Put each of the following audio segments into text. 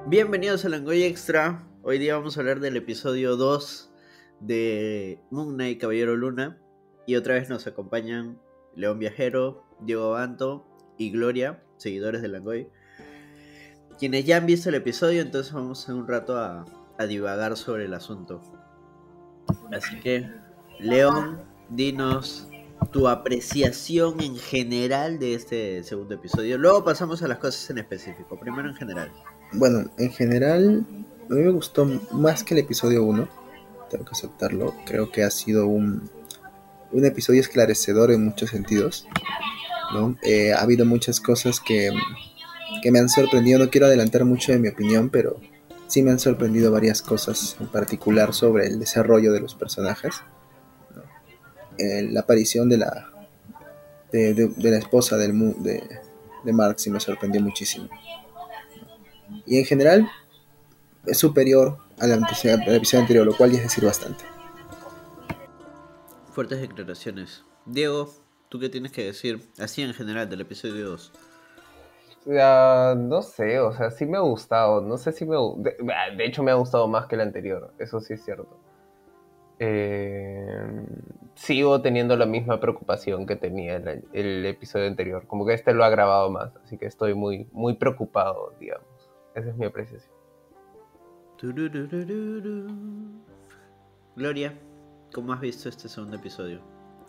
Bienvenidos a Langoy Extra. Hoy día vamos a hablar del episodio 2 de Moon Knight Caballero Luna. Y otra vez nos acompañan León Viajero, Diego Banto y Gloria, seguidores de Langoy, quienes ya han visto el episodio, entonces vamos en un rato a divagar sobre el asunto. Así que, León, dinos tu apreciación en general de este segundo episodio. Luego pasamos a las cosas en específico. Primero en general. Bueno, en general, a mí me gustó más que el episodio 1, tengo que aceptarlo. Creo que ha sido un episodio esclarecedor en muchos sentidos, ¿no? Ha habido muchas cosas que me han sorprendido. No quiero adelantar mucho de mi opinión, pero sí me han sorprendido varias cosas, en particular sobre el desarrollo de los personajes, ¿no? La aparición de la esposa de Mark sí me sorprendió muchísimo. Y en general es superior al episodio anterior, lo cual ya es decir bastante. Fuertes declaraciones. Diego, ¿tú qué tienes que decir así en general del episodio 2? No sé, o sea, sí me ha gustado. No sé si de hecho me ha gustado más que el anterior, eso sí es cierto. Sigo teniendo la misma preocupación que tenía el episodio anterior. Como que este lo ha grabado más, así que estoy muy, muy preocupado, digamos. Esa es mi apreciación. Gloria, ¿cómo has visto este segundo episodio?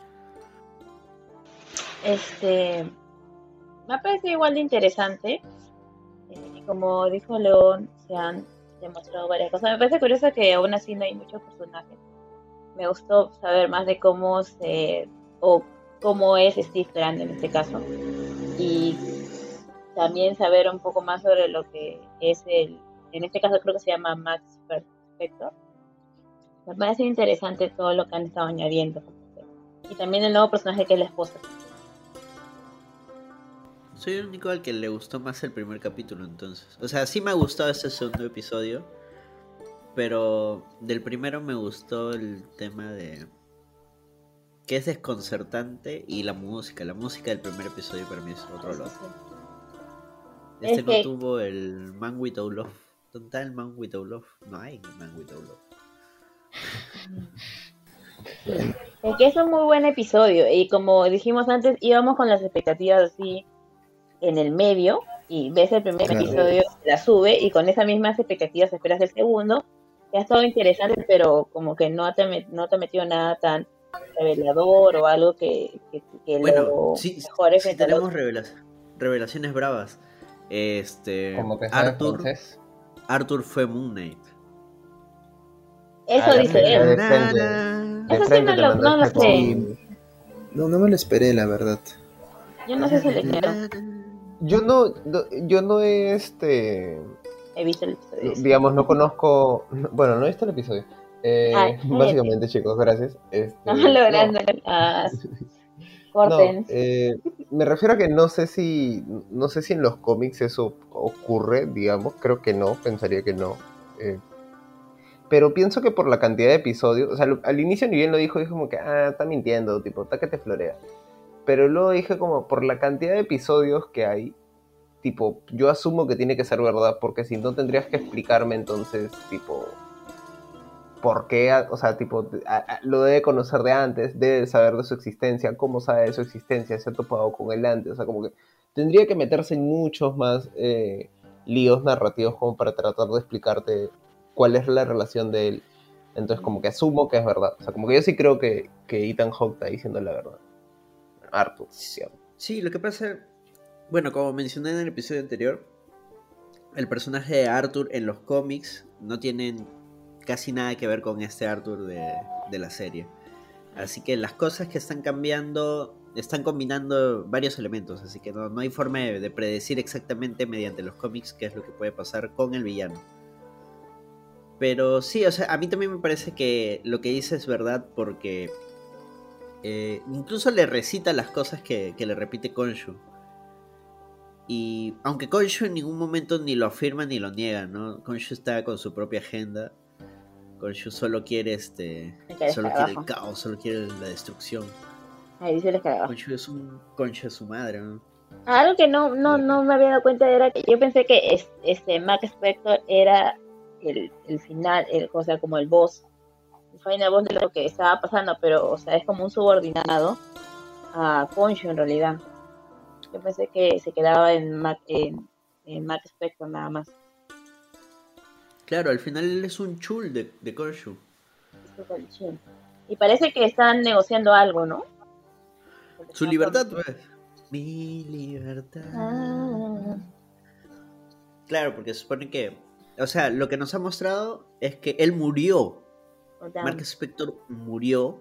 Me ha parecido igual de interesante. Como dijo León, se han demostrado varias cosas. Me parece curioso que aún así no hay muchos personajes. Me gustó saber más de cómo es Steve Grant en este caso. Y también saber un poco más sobre lo que es en este caso creo que se llama Max Spector. Me parece interesante todo lo que han estado añadiendo. Y también el nuevo personaje que es la esposa. Soy el único al que le gustó más el primer capítulo, entonces. O sea, sí me ha gustado este segundo episodio, pero del primero me gustó el tema de que es desconcertante y la música del primer episodio para mí es otro lado. Este no tuvo el Man Without Love. ¿Dónde está el Man Without Love? No hay Man Without Love. Es que es un muy buen episodio y como dijimos antes, íbamos con las expectativas así en el medio y ves el primer episodio, la sube y con esas mismas expectativas esperas el segundo. Que ha estado interesante, pero como que no te metió nada tan revelador o algo que bueno, sí tenemos revelaciones bravas. Como que sabe francés. Arthur fue Moon Knight. Eso dice él. Eso sí no lo sé. No me lo esperé, la verdad. Yo no sé si le creo. Yo no he visto el episodio. Digamos, no conozco. Bueno, no he visto el episodio. Básicamente, chicos, gracias. Estamos logrando. Corten. Me refiero a que no sé si en los cómics eso ocurre, digamos. Creo que no, pensaría que no. Pero pienso que por la cantidad de episodios, o sea, al inicio ni bien lo dijo como que, está mintiendo, tipo, está que te florea. Pero luego dije como, por la cantidad de episodios que hay, tipo, yo asumo que tiene que ser verdad, porque si no tendrías que explicarme entonces, tipo, por qué, o sea, tipo, lo debe conocer de antes, debe saber de su existencia, cómo sabe de su existencia, se ha topado con él antes, o sea, como que tendría que meterse en muchos más líos narrativos como para tratar de explicarte cuál es la relación de él. Entonces como que asumo que es verdad, o sea, como que yo sí creo que Ethan Hawke está diciendo la verdad. Arthur. Sí, lo que pasa, bueno, como mencioné en el episodio anterior, el personaje de Arthur en los cómics no tiene casi nada que ver con este Arthur de la serie. Así que las cosas que están cambiando están combinando varios elementos, así que no hay forma de predecir exactamente mediante los cómics qué es lo que puede pasar con el villano. Pero sí, o sea, a mí también me parece que lo que dice es verdad porque incluso le recita las cosas que le repite Khonshu. Y aunque Khonshu en ningún momento ni lo afirma ni lo niega, ¿no? Khonshu está con su propia agenda. Khonshu solo quiere solo quiere el caos, solo quiere la destrucción. Ahí dice el escarabajo. Khonshu es un concha de su madre, ¿no? Algo que no me había dado cuenta era que yo pensé que Max Spector era el final, o sea, como el boss, el final boss de lo que estaba pasando, pero, o sea, es como un subordinado a Khonshu en realidad. Yo pensé que se quedaba en Max Spector nada más. Claro, al final él es un chul de Khonshu. Y parece que están negociando algo, ¿no? Su libertad, pues. Mi libertad. Claro, porque se supone que... O sea, lo que nos ha mostrado es que él murió. Mark Spector murió.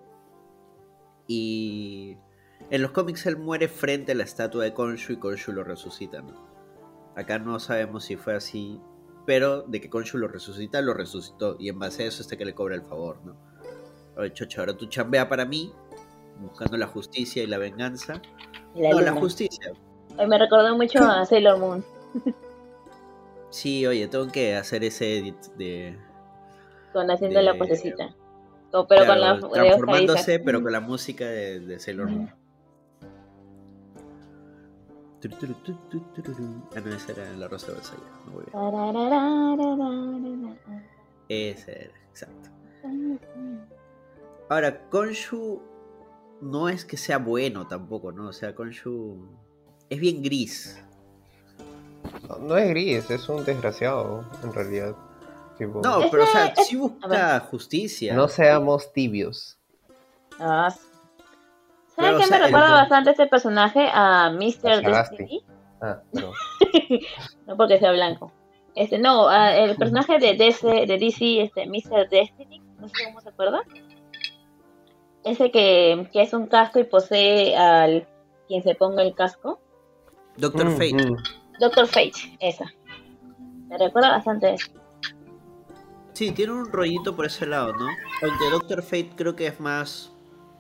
Y... En los cómics él muere frente a la estatua de Khonshu y Khonshu lo resucita, ¿no? Acá no sabemos si fue así, pero de que Khonshu lo resucita, lo resucitó. Y en base a eso que le cobra el favor, ¿no? Oye, chocho, ahora tú chambea para mí, buscando la justicia y la venganza. La justicia. Ay, me recordó mucho a Sailor Moon. Sí, oye, tengo que hacer ese edit de... Con haciendo la posecita. Pero claro, con la transformándose, pero con la música de Sailor Moon. Ah, no, esa era la Rosa de Versalles. Muy bien. Esa era, exacto. Ahora, Khonshu no es que sea bueno tampoco, ¿no? O sea, Khonshu es bien gris. No es gris, es un desgraciado, en realidad. Tipo, no, pero o sea, sí busca justicia. No seamos tibios. ¿Sabes qué me recuerda bastante este personaje? A Mr. Destiny. No. No porque sea blanco. El personaje de DC, Mr. Destiny, no sé cómo se acuerda. Ese que es un casco y posee al quien se ponga el casco. Doctor Fate. Doctor Fate, esa. Me recuerda bastante eso. Sí, tiene un rollito por ese lado, ¿no? Aunque Doctor Fate creo que es más...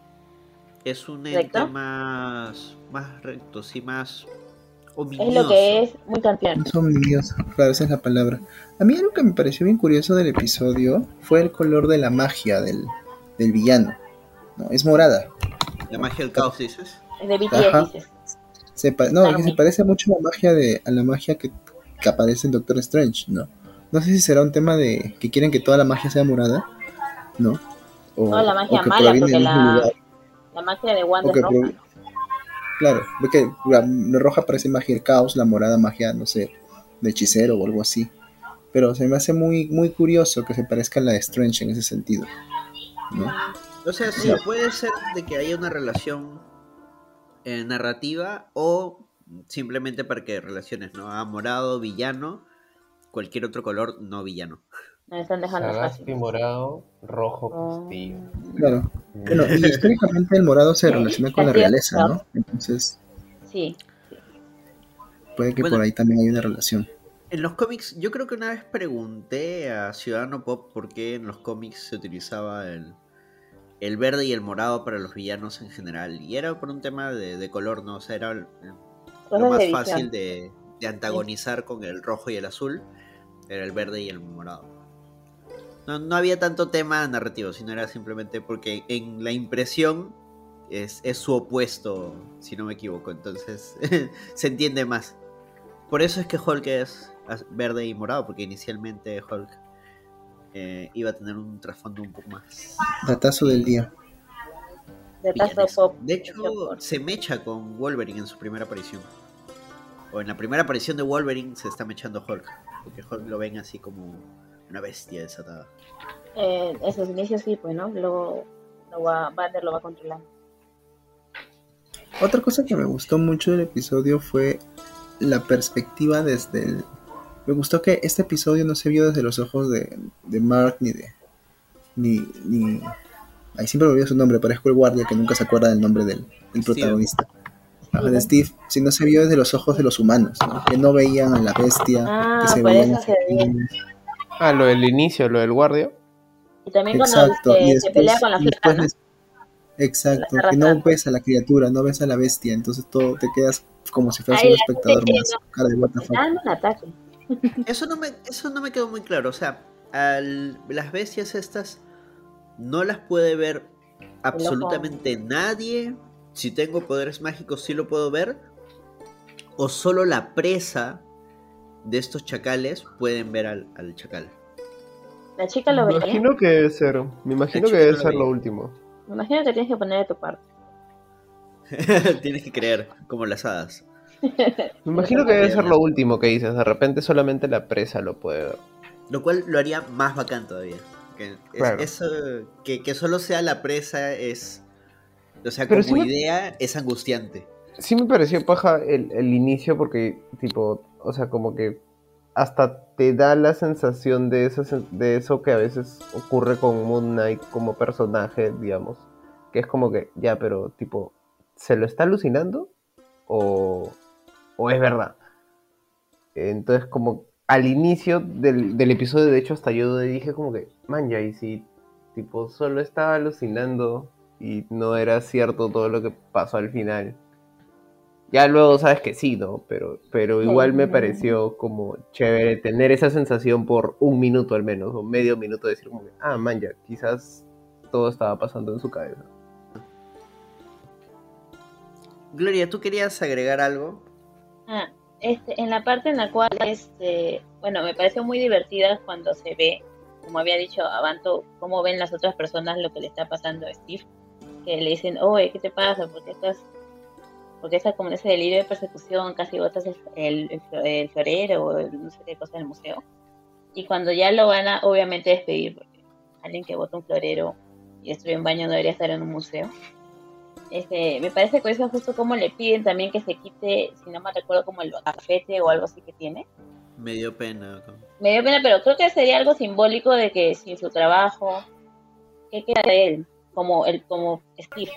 Es un ente más recto, sí, más ominioso. Es lo que es muy campeón. Es ominioso, claro, esa es la palabra. A mí algo que me pareció bien curioso del episodio fue el color de la magia del villano. No, es morada. ¿La magia del caos dices? Es de BTS, dices. Se parece mucho a la magia que aparece en Doctor Strange, ¿no? No sé si será un tema de que quieren que toda la magia sea morada, ¿no? No, la magia mala, porque la magia de Wanda es roja. Claro, ve que la roja parece magia del caos, la morada magia, no sé, de hechicero o algo así. Pero se me hace muy, muy curioso que se parezca a la de Strange en ese sentido, ¿no? O sea, sí, puede ser de que haya una relación narrativa o simplemente para que relaciones, ¿no? A morado, villano, cualquier otro color no villano. Me están dejando Sagasti morado, rojo castillo. Claro. Bueno, y históricamente el morado se relaciona con la realeza, ¿no? Entonces... Sí. Puede que por ahí también hay una relación. En los cómics, yo creo que una vez pregunté a Ciudadano Pop por qué en los cómics se utilizaba el verde y el morado para los villanos en general. Y era por un tema de color, ¿no? O sea, era lo más fácil de antagonizar con el rojo y el azul. Era el verde y el morado. No había tanto tema narrativo, sino era simplemente porque en la impresión es su opuesto, si no me equivoco. Entonces se entiende más. Por eso es que Hulk es verde y morado, porque inicialmente Hulk iba a tener un trasfondo un poco más... Datazo del día. De hecho, se mecha con Wolverine en su primera aparición. O en la primera aparición de Wolverine se está mechando Hulk, porque Hulk lo ven así como una bestia desatada. Esos inicios sí, pues, ¿no? Luego Banner lo va controlando. Otra cosa que me gustó mucho del episodio fue la perspectiva desde el... Me gustó que este episodio no se vio desde los ojos de Mark ni ahí siempre me olvido su nombre, parezco el guardia que nunca se acuerda del nombre del protagonista. De Steve, sino se vio desde los ojos de los humanos, ¿no? Que no veían a la bestia, que se veían lo del inicio, lo del guardia. Y también cuando se pelea con la flaca, ¿no? Exacto, que no ves a la criatura, no ves a la bestia, entonces todo te quedas como si fueras un espectador más, cara de what the fuck. Eso no me quedó muy claro, o sea, las bestias estas no las puede ver absolutamente nadie. Si tengo poderes mágicos sí lo puedo ver, o solo la presa de estos chacales pueden ver al chacal. ¿La chica lo Me veía? imagino que debe ser. Me imagino que chica debe no lo ser lo veía. último. Me imagino que tienes que poner de tu parte. Tienes que creer, como las hadas. Me imagino que debe ser lo último que dices. De repente solamente la presa lo puede ver. Lo cual lo haría más bacán todavía. Claro. Que solo sea la presa es... O sea, Pero como idea es angustiante. sí me pareció paja el inicio porque, tipo, o sea, como que hasta te da la sensación de eso que a veces ocurre con Moon Knight como personaje, digamos. Que es como que, ya, pero, tipo, ¿se lo está alucinando? ¿O es verdad? Entonces, como al inicio del episodio, de hecho, hasta yo dije como que, man, ya, y si, tipo, solo estaba alucinando y no era cierto todo lo que pasó al final. Ya luego sabes que sí, ¿no? Pero igual me pareció como chévere tener esa sensación por un minuto al menos, o medio minuto de decir como que, ah, man, ya, quizás todo estaba pasando en su cabeza. Gloria, ¿tú querías agregar algo? En la parte en la cual, bueno, me pareció muy divertida cuando se ve, como había dicho Abanto, cómo ven las otras personas lo que le está pasando a Steve, que le dicen, oye, ¿qué te pasa? Porque estás como en ese delirio de persecución, casi botas el florero o no sé qué cosa del museo. Y cuando ya lo van a, obviamente, despedir, porque alguien que bota un florero y destruye un baño no debería estar en un museo. Me parece que eso justo como le piden también que se quite, si no me recuerdo, como el cafete o algo así que tiene. Me dio pena. Me dio pena, pero creo que sería algo simbólico de que sin su trabajo, ¿qué queda de él? Como Steve.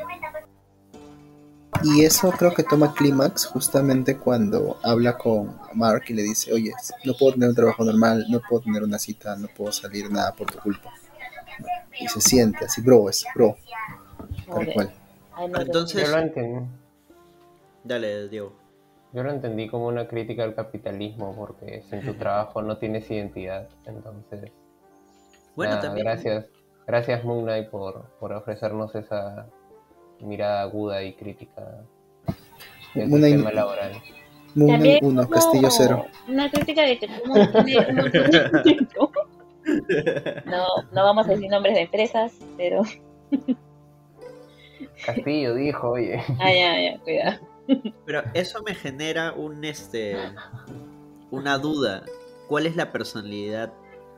Y eso creo que toma clímax justamente cuando habla con Mark y le dice, oye, no puedo tener un trabajo normal, no puedo tener una cita, no puedo salir nada por tu culpa. Y se siente así, bro, tal cual. Entonces, Yo lo entendí. Dale, Diego. Yo lo entendí como una crítica al capitalismo, porque sin tu trabajo no tienes identidad. Entonces, Bueno, nada, también. gracias Moon Knight por ofrecernos esa mirada aguda y crítica del sistema laboral. Moon Knight También 1, como Castillo 0. una crítica de que como tiene un montón de tiempo. No vamos a decir nombres de empresas, pero... Castillo dijo, oye. ya, cuidado. Pero eso me genera una duda. ¿Cuál es la personalidad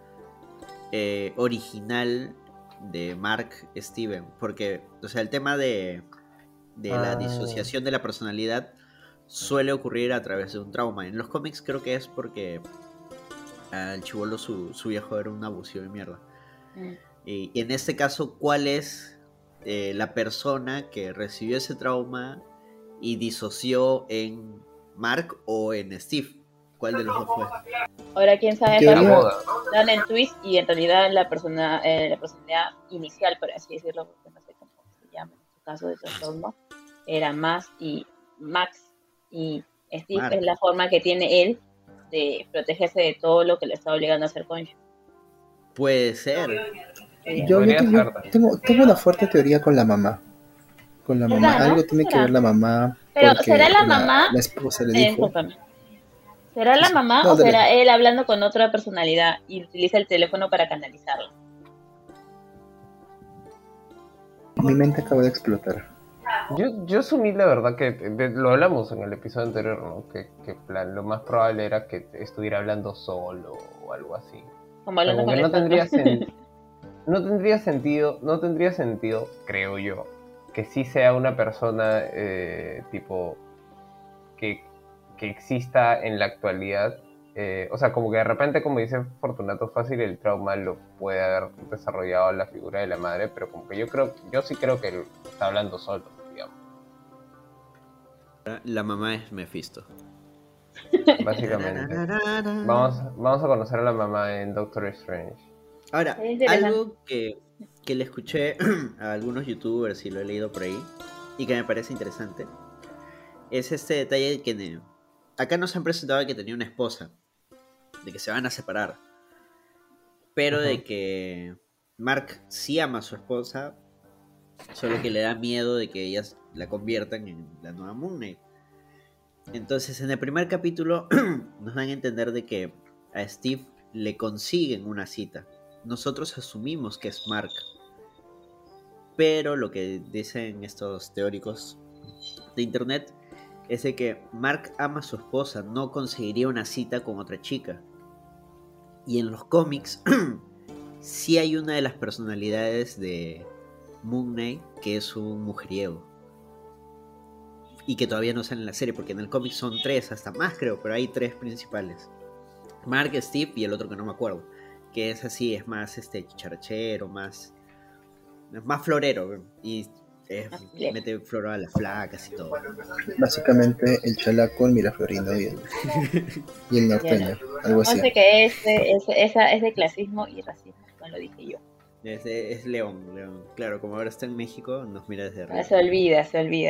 original de Mark Steven? Porque, o sea, el tema de la disociación de la personalidad suele ocurrir a través de un trauma. En los cómics creo que es porque al chibolo su viejo era un abusivo de mierda. Y en este caso, ¿cuál es la persona que recibió ese trauma y disoció en Mark o en Steve? ¿Cuál de los dos fue? Ahora quién sabe, Teoría... dan el twist y en realidad la personalidad inicial, por así decirlo, porque no sé cómo se llama en su caso de trastorno, era Max y Steve Mark. Es la forma que tiene él de protegerse de todo lo que le está obligando a hacer Concho. Puede ser. Yo tengo una fuerte teoría con la mamá. Con la mamá, ¿no? algo tiene que ver la mamá. Pero porque ¿será la mamá? La esposa le dijo. ¿Será la mamá no, o dale. será él hablando con otra personalidad y utiliza el teléfono para canalizarlo? Mi mente acaba de explotar. Yo asumí la verdad que lo hablamos en el episodio anterior, ¿no? Que plan, lo más probable era que estuviera hablando solo o algo así. Como hablando con no tendría sentido, creo yo, que sí sea una persona tipo que exista en la actualidad. O sea, como que de repente, como dice Fortunato, fácil el trauma lo puede haber desarrollado la figura de la madre, pero como que yo sí creo que él está hablando solo, digamos. La mamá es Mephisto. Básicamente. Vamos a conocer a la mamá en Doctor Strange. Ahora, algo que le escuché a algunos youtubers y lo he leído por ahí y que me parece interesante es este detalle de que acá nos han presentado que tenía una esposa, de que se van a separar, pero de que Mark sí ama a su esposa, solo que le da miedo de que ellas la conviertan en la nueva Moon Knight. Entonces, en el primer capítulo nos dan a entender de que a Steve le consiguen una cita. Nosotros asumimos que es Mark. Pero lo que dicen estos teóricos de internet es de que Mark ama a su esposa, no conseguiría una cita con otra chica. Y en los cómics sí hay una de las personalidades de Moon Knight que es un mujeriego. Y que todavía no sale en la serie, porque en el cómic son 3, hasta más creo, pero hay 3 principales. Mark, Steve y el otro que no me acuerdo. Que es así, es más chicharachero, más florero. Y mete flor a las flacas y todo. Básicamente el chalaco, el miraflorino y el norteño, algo así. No sé qué es de clasismo y racismo, no lo dije yo. Es León. Claro, como ahora está en México, nos mira desde arriba. Se olvida.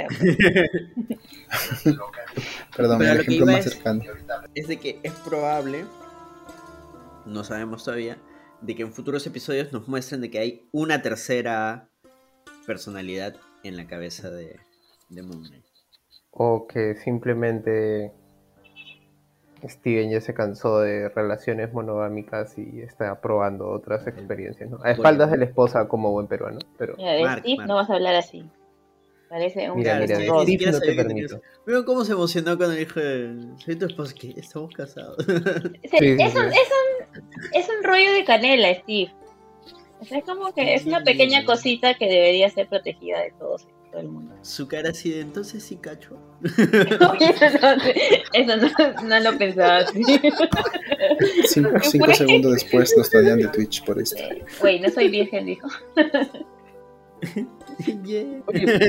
Perdón, pero el ejemplo más cercano. Es de que es probable, no sabemos todavía, de que en futuros episodios nos muestren de que hay una tercera personalidad en la cabeza de Moon Knight. O que simplemente Steven ya se cansó de relaciones monogámicas y está probando otras experiencias, ¿no? A espaldas de la esposa como buen peruano, pero... Mira, de Steve no vas a hablar así. Parece un... Mira, Steve no te permito. Mira cómo se emocionó cuando dijo, soy tu esposa, que estamos casados. Es un rollo de canela, Steve. O sea, es como que es una pequeña cosita que debería ser protegida de todo el mundo. Su cara así de, entonces sí cacho. Eso no lo pensaba así. 5 segundos después nos traían de Twitch por esto. Güey, no soy virgen, dijo. Yeah. Oye,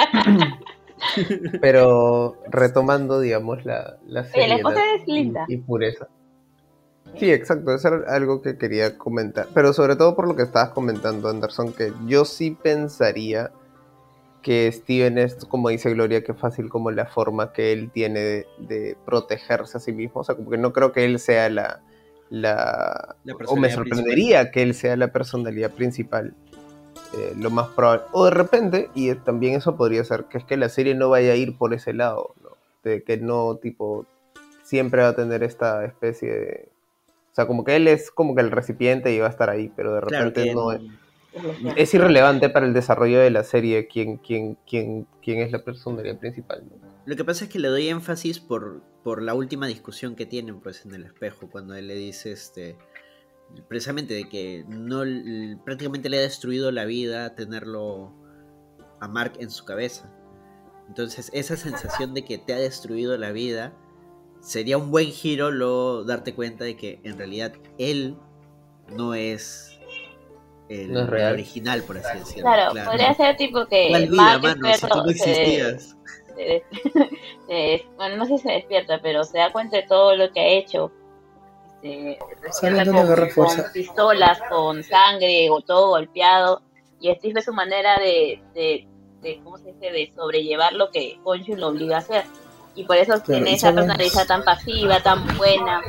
pero retomando, digamos, la Oye, la esposa es linda. Y pureza. Sí, exacto, eso era algo que quería comentar. Pero sobre todo por lo que estabas comentando, Anderson, que yo sí pensaría que Steven es, como dice Gloria, que fácil como la forma que él tiene de protegerse a sí mismo. O sea, como que no creo que él sea o me sorprendería principal. Que él sea la personalidad principal. Lo más probable. O de repente, y también eso podría ser, que es que la serie no vaya a ir por ese lado, ¿no? De que no, tipo, siempre va a tener esta especie de... O sea, como que él es como que el recipiente y va a estar ahí, pero de repente claro no es irrelevante para el desarrollo de la serie quién es la personalidad principal, ¿no? Lo que pasa es que le doy énfasis por la última discusión que tienen pues en el espejo, cuando él le dice precisamente de que no prácticamente le ha destruido la vida tenerlo a Mark en su cabeza. Entonces esa sensación de que te ha destruido la vida sería un buen giro luego darte cuenta de que en realidad él no es el original, por así decirlo. Claro, podría ser tipo que Mark si tú no existías. Bueno, no sé si se despierta, pero se da cuenta de todo lo que ha hecho. Con pistolas, con sangre, o todo golpeado, y Steve es su manera de ¿cómo se dice? De sobrellevar lo que Khonshu lo obliga a hacer, y por eso tiene esa personalidad tan pasiva, tan buena.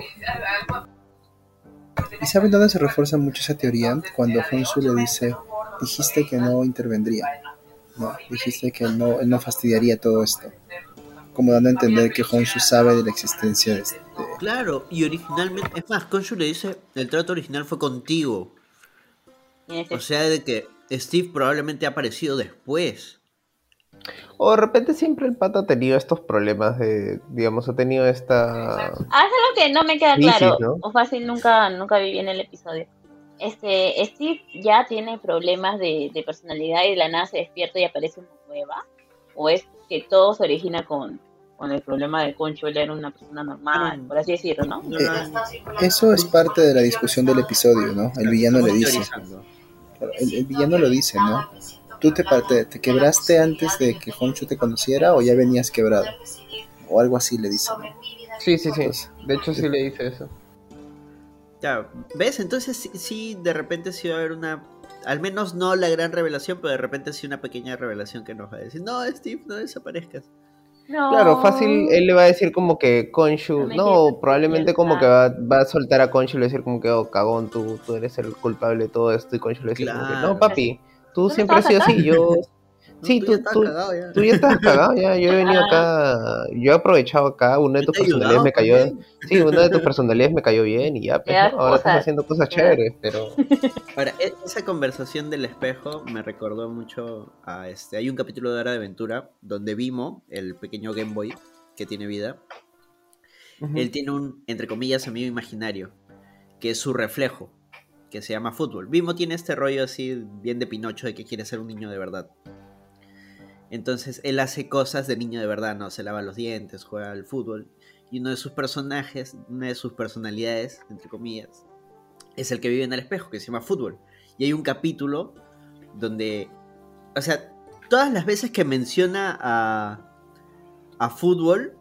¿Y saben dónde se refuerza mucho esa teoría? Cuando Khonshu le dice, dijiste que no intervendría, no, dijiste que él no fastidiaría todo esto, como dando a entender que Khonshu sabe de la existencia de este. Claro, y originalmente, es más, Khonshu le dice, el trato original fue contigo. O sea, de que Steve probablemente ha aparecido después. O de repente siempre el pata ha tenido estos problemas de, digamos, ha tenido esta... Es algo que no me queda claro, ¿no? O fácil nunca vi bien el episodio. Steve ya tiene problemas de personalidad y de la nada se despierta y aparece una nueva, o es que todo se origina con el problema de Khonshu, él era una persona normal, por así decirlo, ¿no? Eso es parte de la discusión del episodio, ¿no? El villano le dice. El villano lo dice, ¿no? ¿Tú te quebraste antes de que Khonshu te conociera o ya venías quebrado? O algo así le dice, ¿no? Sí. Entonces, de hecho sí le dice eso. Ya, ¿ves? Entonces sí, de repente sí va a haber una... Al menos no la gran revelación, pero de repente sí una pequeña revelación que nos va a decir, no, Steve, no desaparezcas. No. Claro, fácil, él le va a decir como que Khonshu, probablemente como que va a soltar a Khonshu y le va a decir como que, oh, cagón, tú eres el culpable de todo esto, y Khonshu le va a decir como que, no, papi, tú siempre has sido así, ¿no? Sí, Tú ya estás cagado ya. tú ya estás cagado, ya. Yo he venido acá, yo he aprovechado acá, una de Yo tus te he personalidades ayudado me cayó, también. sí, una de tus personalidades me cayó bien y ya, pues, Ya, ¿no? Ahora estás cosas. haciendo cosas Ya. chéveres, pero... Ahora, esa conversación del espejo me recordó mucho a hay un capítulo de Hora de Aventura donde Vimo, el pequeño Game Boy que tiene vida, él tiene un, entre comillas, amigo imaginario, que es su reflejo, que se llama fútbol. Vimo tiene este rollo así bien de Pinocho de que quiere ser un niño de verdad. Entonces él hace cosas de niño de verdad, ¿no? Se lava los dientes, juega al fútbol. Y uno de sus personajes, una de sus personalidades, entre comillas, es el que vive en el espejo, que se llama fútbol. Y hay un capítulo donde, o sea, todas las veces que menciona a fútbol,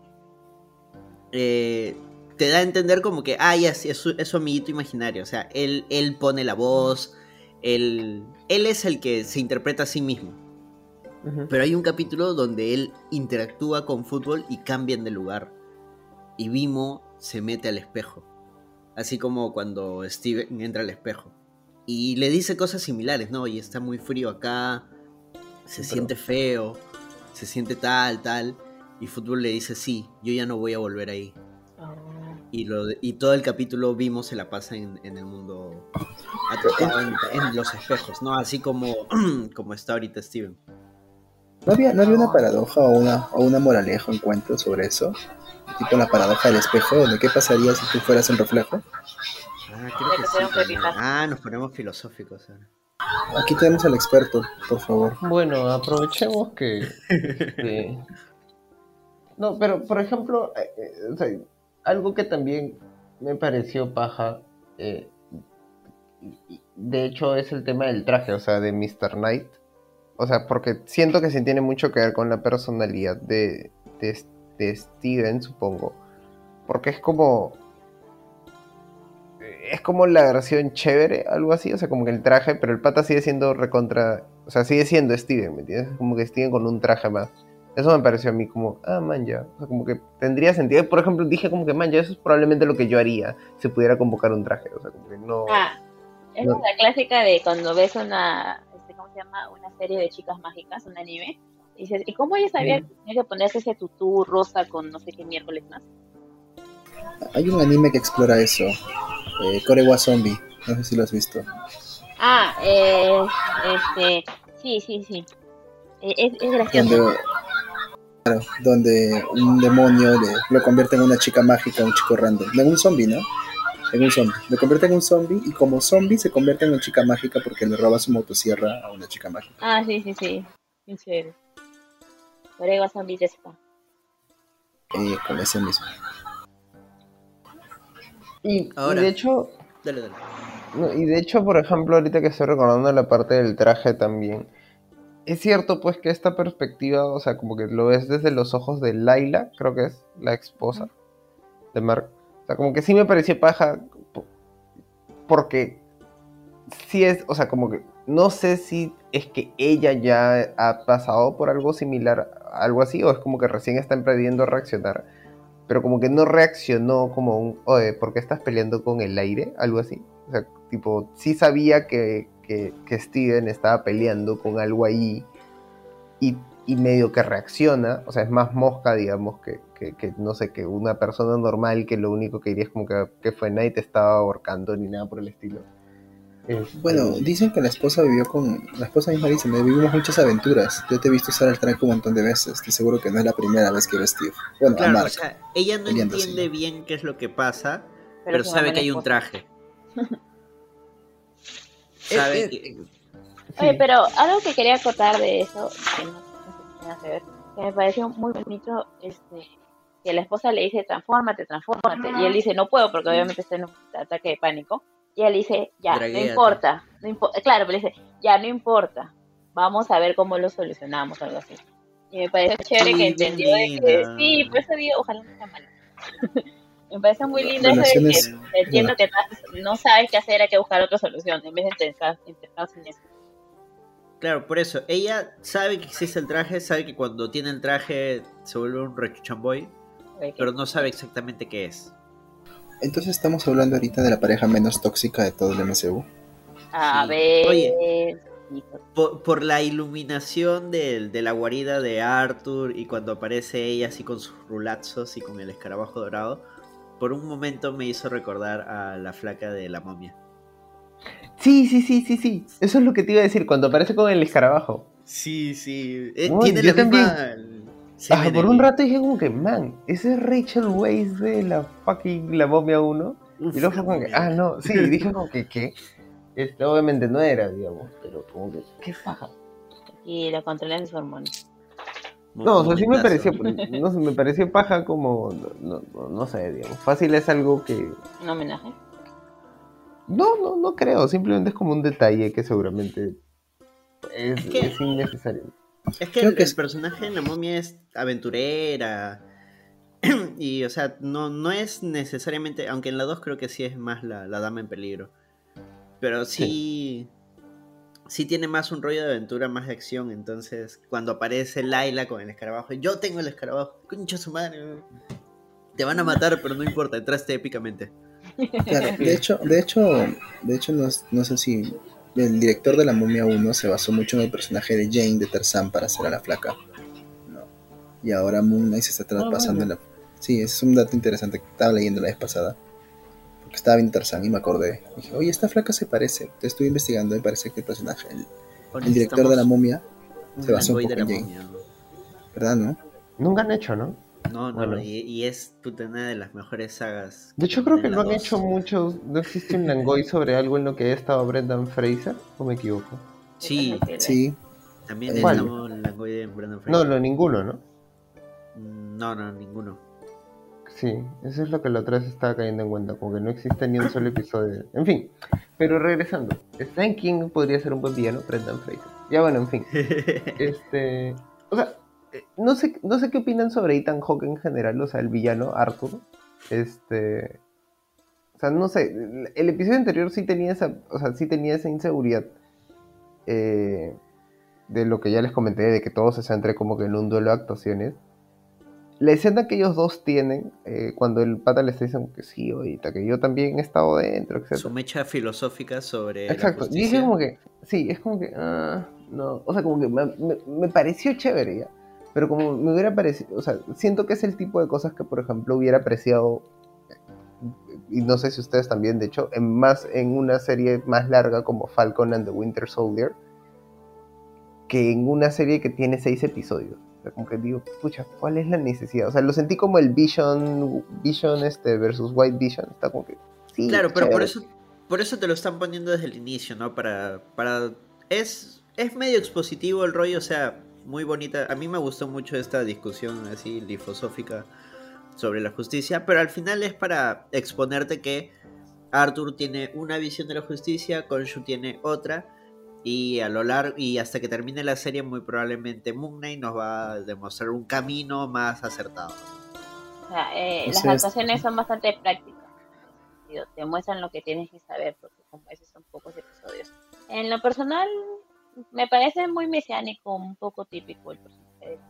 te da a entender como que, ya, sí, es su amiguito imaginario. O sea, él pone la voz, él es el que se interpreta a sí mismo. Pero hay un capítulo donde él interactúa con fútbol y cambian de lugar. Y Vimo se mete al espejo. Así como cuando Steven entra al espejo. Y le dice cosas similares, ¿no? Y está muy frío acá, se siente feo, se siente tal. Y fútbol le dice, sí, yo ya no voy a volver ahí. Y todo el capítulo Vimo se la pasa en el mundo, atrapado en los espejos, ¿no? Así como está ahorita Steven. ¿No había una paradoja o una moraleja, un cuento sobre eso? Tipo la paradoja del espejo, donde qué pasaría si tú fueras el reflejo. Creo que sí. Nos ponemos filosóficos ahora. Aquí tenemos al experto, por favor. Bueno, aprovechemos que... No, pero por ejemplo, o sea, algo que también me pareció paja, de hecho es el tema del traje, o sea, de Mr. Knight. O sea, porque siento que sí tiene mucho que ver con la personalidad de Steven, supongo. Porque es como la versión chévere, algo así. O sea, como que el traje, pero el pata sigue siendo recontra... O sea, sigue siendo Steven, ¿me entiendes? Como que Steven con un traje más. Eso me pareció a mí como, man, ya. O sea, como que tendría sentido. Por ejemplo, dije como que, man, ya, eso es probablemente lo que yo haría si pudiera convocar un traje. O sea, como que no... Es la clásica de cuando ves una... ¿Cómo se llama? Una serie de chicas mágicas, un anime. Y dices, ¿y cómo ella sabía que tenía que ponerse ese tutú rosa con no sé qué miércoles más? Hay un anime que explora eso, Korewa Zombie, no sé si lo has visto. Sí. Es gracioso. Donde un demonio lo convierte en una chica mágica, un chico random, en un zombie, ¿no? En un zombie. Lo convierte en un zombie y como zombie se convierte en una chica mágica porque le roba su motosierra a una chica mágica. Sí. Qué chévere. Korewa Zombie de Spa. Con ese mismo. Ahora, y de hecho... Dale. No, y de hecho, por ejemplo, ahorita que estoy recordando la parte del traje también, es cierto pues que esta perspectiva, o sea, como que lo ves desde los ojos de Layla, creo que es la esposa de Mark. O sea, como que sí me pareció paja, porque sí es, o sea, como que no sé si es que ella ya ha pasado por algo similar, algo así, o es como que recién está emprendiendo a reaccionar, pero como que no reaccionó como un, oye, ¿por qué estás peleando con el aire? Algo así. O sea, tipo, sí sabía que Steven estaba peleando con algo ahí y medio que reacciona, o sea, es más mosca, digamos, que no sé, que una persona normal que lo único que diría es como que fue nadie te estaba ahorcando ni nada por el estilo. Bueno, dicen que la esposa misma dice, me vivimos muchas aventuras, yo te he visto usar el traje un montón de veces, estoy seguro que no es la primera vez que ves Steve. Bueno, claro, a Mark, o sea, ella no entiende bien qué es lo que pasa, pero sabe que hay un traje. Sabe que... Oye, pero algo que quería acotar de eso, que no sé si tiene que ver, que me pareció muy bonito, que la esposa le dice, transfórmate, y él dice, no puedo, porque obviamente está en un ataque de pánico, y él dice, ya, Draguéate. no importa, claro, pero dice, ya, no importa, vamos a ver cómo lo solucionamos, algo así. Y me parece chévere que entendió de que, sí, por eso digo, ojalá no sea malo. Me parece muy lindo eso de que entiendo que no sabes qué hacer, hay que buscar otra solución, en vez de intentar en eso. Claro, por eso, ella sabe que existe el traje, sabe que cuando tiene el traje se vuelve un rechuchamboy, pero no sabe exactamente qué es. Entonces estamos hablando ahorita de la pareja menos tóxica de todo el MCU. A ver... Oye, por la iluminación de la guarida de Arthur y cuando aparece ella así con sus rulazos y con el escarabajo dorado, por un momento me hizo recordar a la flaca de la momia. Sí. Eso es lo que te iba a decir cuando aparece con el escarabajo. Sí. Uy, Tiene yo la misma... por un rato dije como que, man, ese es Rachel Weisz de la fucking La Momia 1. Uf, Y luego fue como que, no, sí, dije como que, ¿qué? Obviamente no era, digamos, pero como que, ¿qué paja? Y la controlan sus hormonas. No, o sea, sí me pareció, no sé, me pareció paja como, no sé, digamos, fácil es algo que... ¿Un homenaje? No creo, simplemente es como un detalle que seguramente es innecesario. Es que el personaje en la momia es aventurera y, o sea, no es necesariamente, aunque en la 2 creo que sí es más la dama en peligro, pero sí tiene más un rollo de aventura, más de acción. Entonces cuando aparece Layla con el escarabajo, yo tengo el escarabajo, concha su madre, te van a matar pero no importa, entraste épicamente. Claro, de hecho no sé si el director de La Momia 1 se basó mucho en el personaje de Jane de Tarzán para hacer a la flaca, ¿no? Y ahora Moon Knight se está traspasando en la... Sí, ese es un dato interesante que estaba leyendo la vez pasada, porque estaba viendo Tarzán y me acordé. Dije, oye, esta flaca se parece. Te estuve investigando y parece que el personaje, el director de La Momia, se basó un poco en Jane. Momia, ¿no? ¿Verdad, no? Nunca han hecho, ¿no? No, bueno. y es una de las mejores sagas. De hecho, creo que lo han hecho muchos. ¿No existe un Langoy sobre algo en lo que haya estado Brendan Fraser? ¿O me equivoco? Sí. También estamos en Langoy de Brendan Fraser. No, ninguno, ¿no? No, ninguno. Sí, eso es lo que la otra vez estaba cayendo en cuenta, como que no existe ni un solo episodio. En fin, pero regresando, Stephen King podría ser un buen villano, Brendan Fraser. Ya bueno, en fin. O sea, no sé qué opinan sobre Ethan Hawke en general, o sea, el villano, Arthur. O sea, no sé, el episodio anterior sí tenía esa inseguridad de lo que ya les comenté, de que todo se centre como que en un duelo de actuaciones. La escena que ellos dos tienen, cuando el pata les dice que sí, ahorita, que yo también he estado dentro, etc. Su mecha filosófica sobre Exacto. la justicia. Y dije como que, sí, es como que, no, o sea, como que me pareció chévere ya, pero como me hubiera parecido, o sea, siento que es el tipo de cosas que, por ejemplo, hubiera apreciado, y no sé si ustedes también, de hecho, en una serie más larga como Falcon and the Winter Soldier, que en una serie que tiene 6 episodios. O sea, como que digo, pucha, ¿cuál es la necesidad? O sea, lo sentí como el Vision versus White Vision. Está como que, sí. Claro, pero por eso te lo están poniendo desde el inicio, ¿no? Es medio expositivo el rollo, o sea, muy bonita. A mí me gustó mucho esta discusión así filosófica sobre la justicia, pero al final es para exponerte que Arthur tiene una visión de la justicia, Khonshu tiene otra. Y a lo largo y hasta que termine la serie, muy probablemente Moon Knight nos va a demostrar un camino más acertado. O sea, las actuaciones son bastante prácticas. Te muestran lo que tienes que saber, porque como esos son pocos episodios. En lo personal, me parece muy mesiánico, un poco típico el personaje.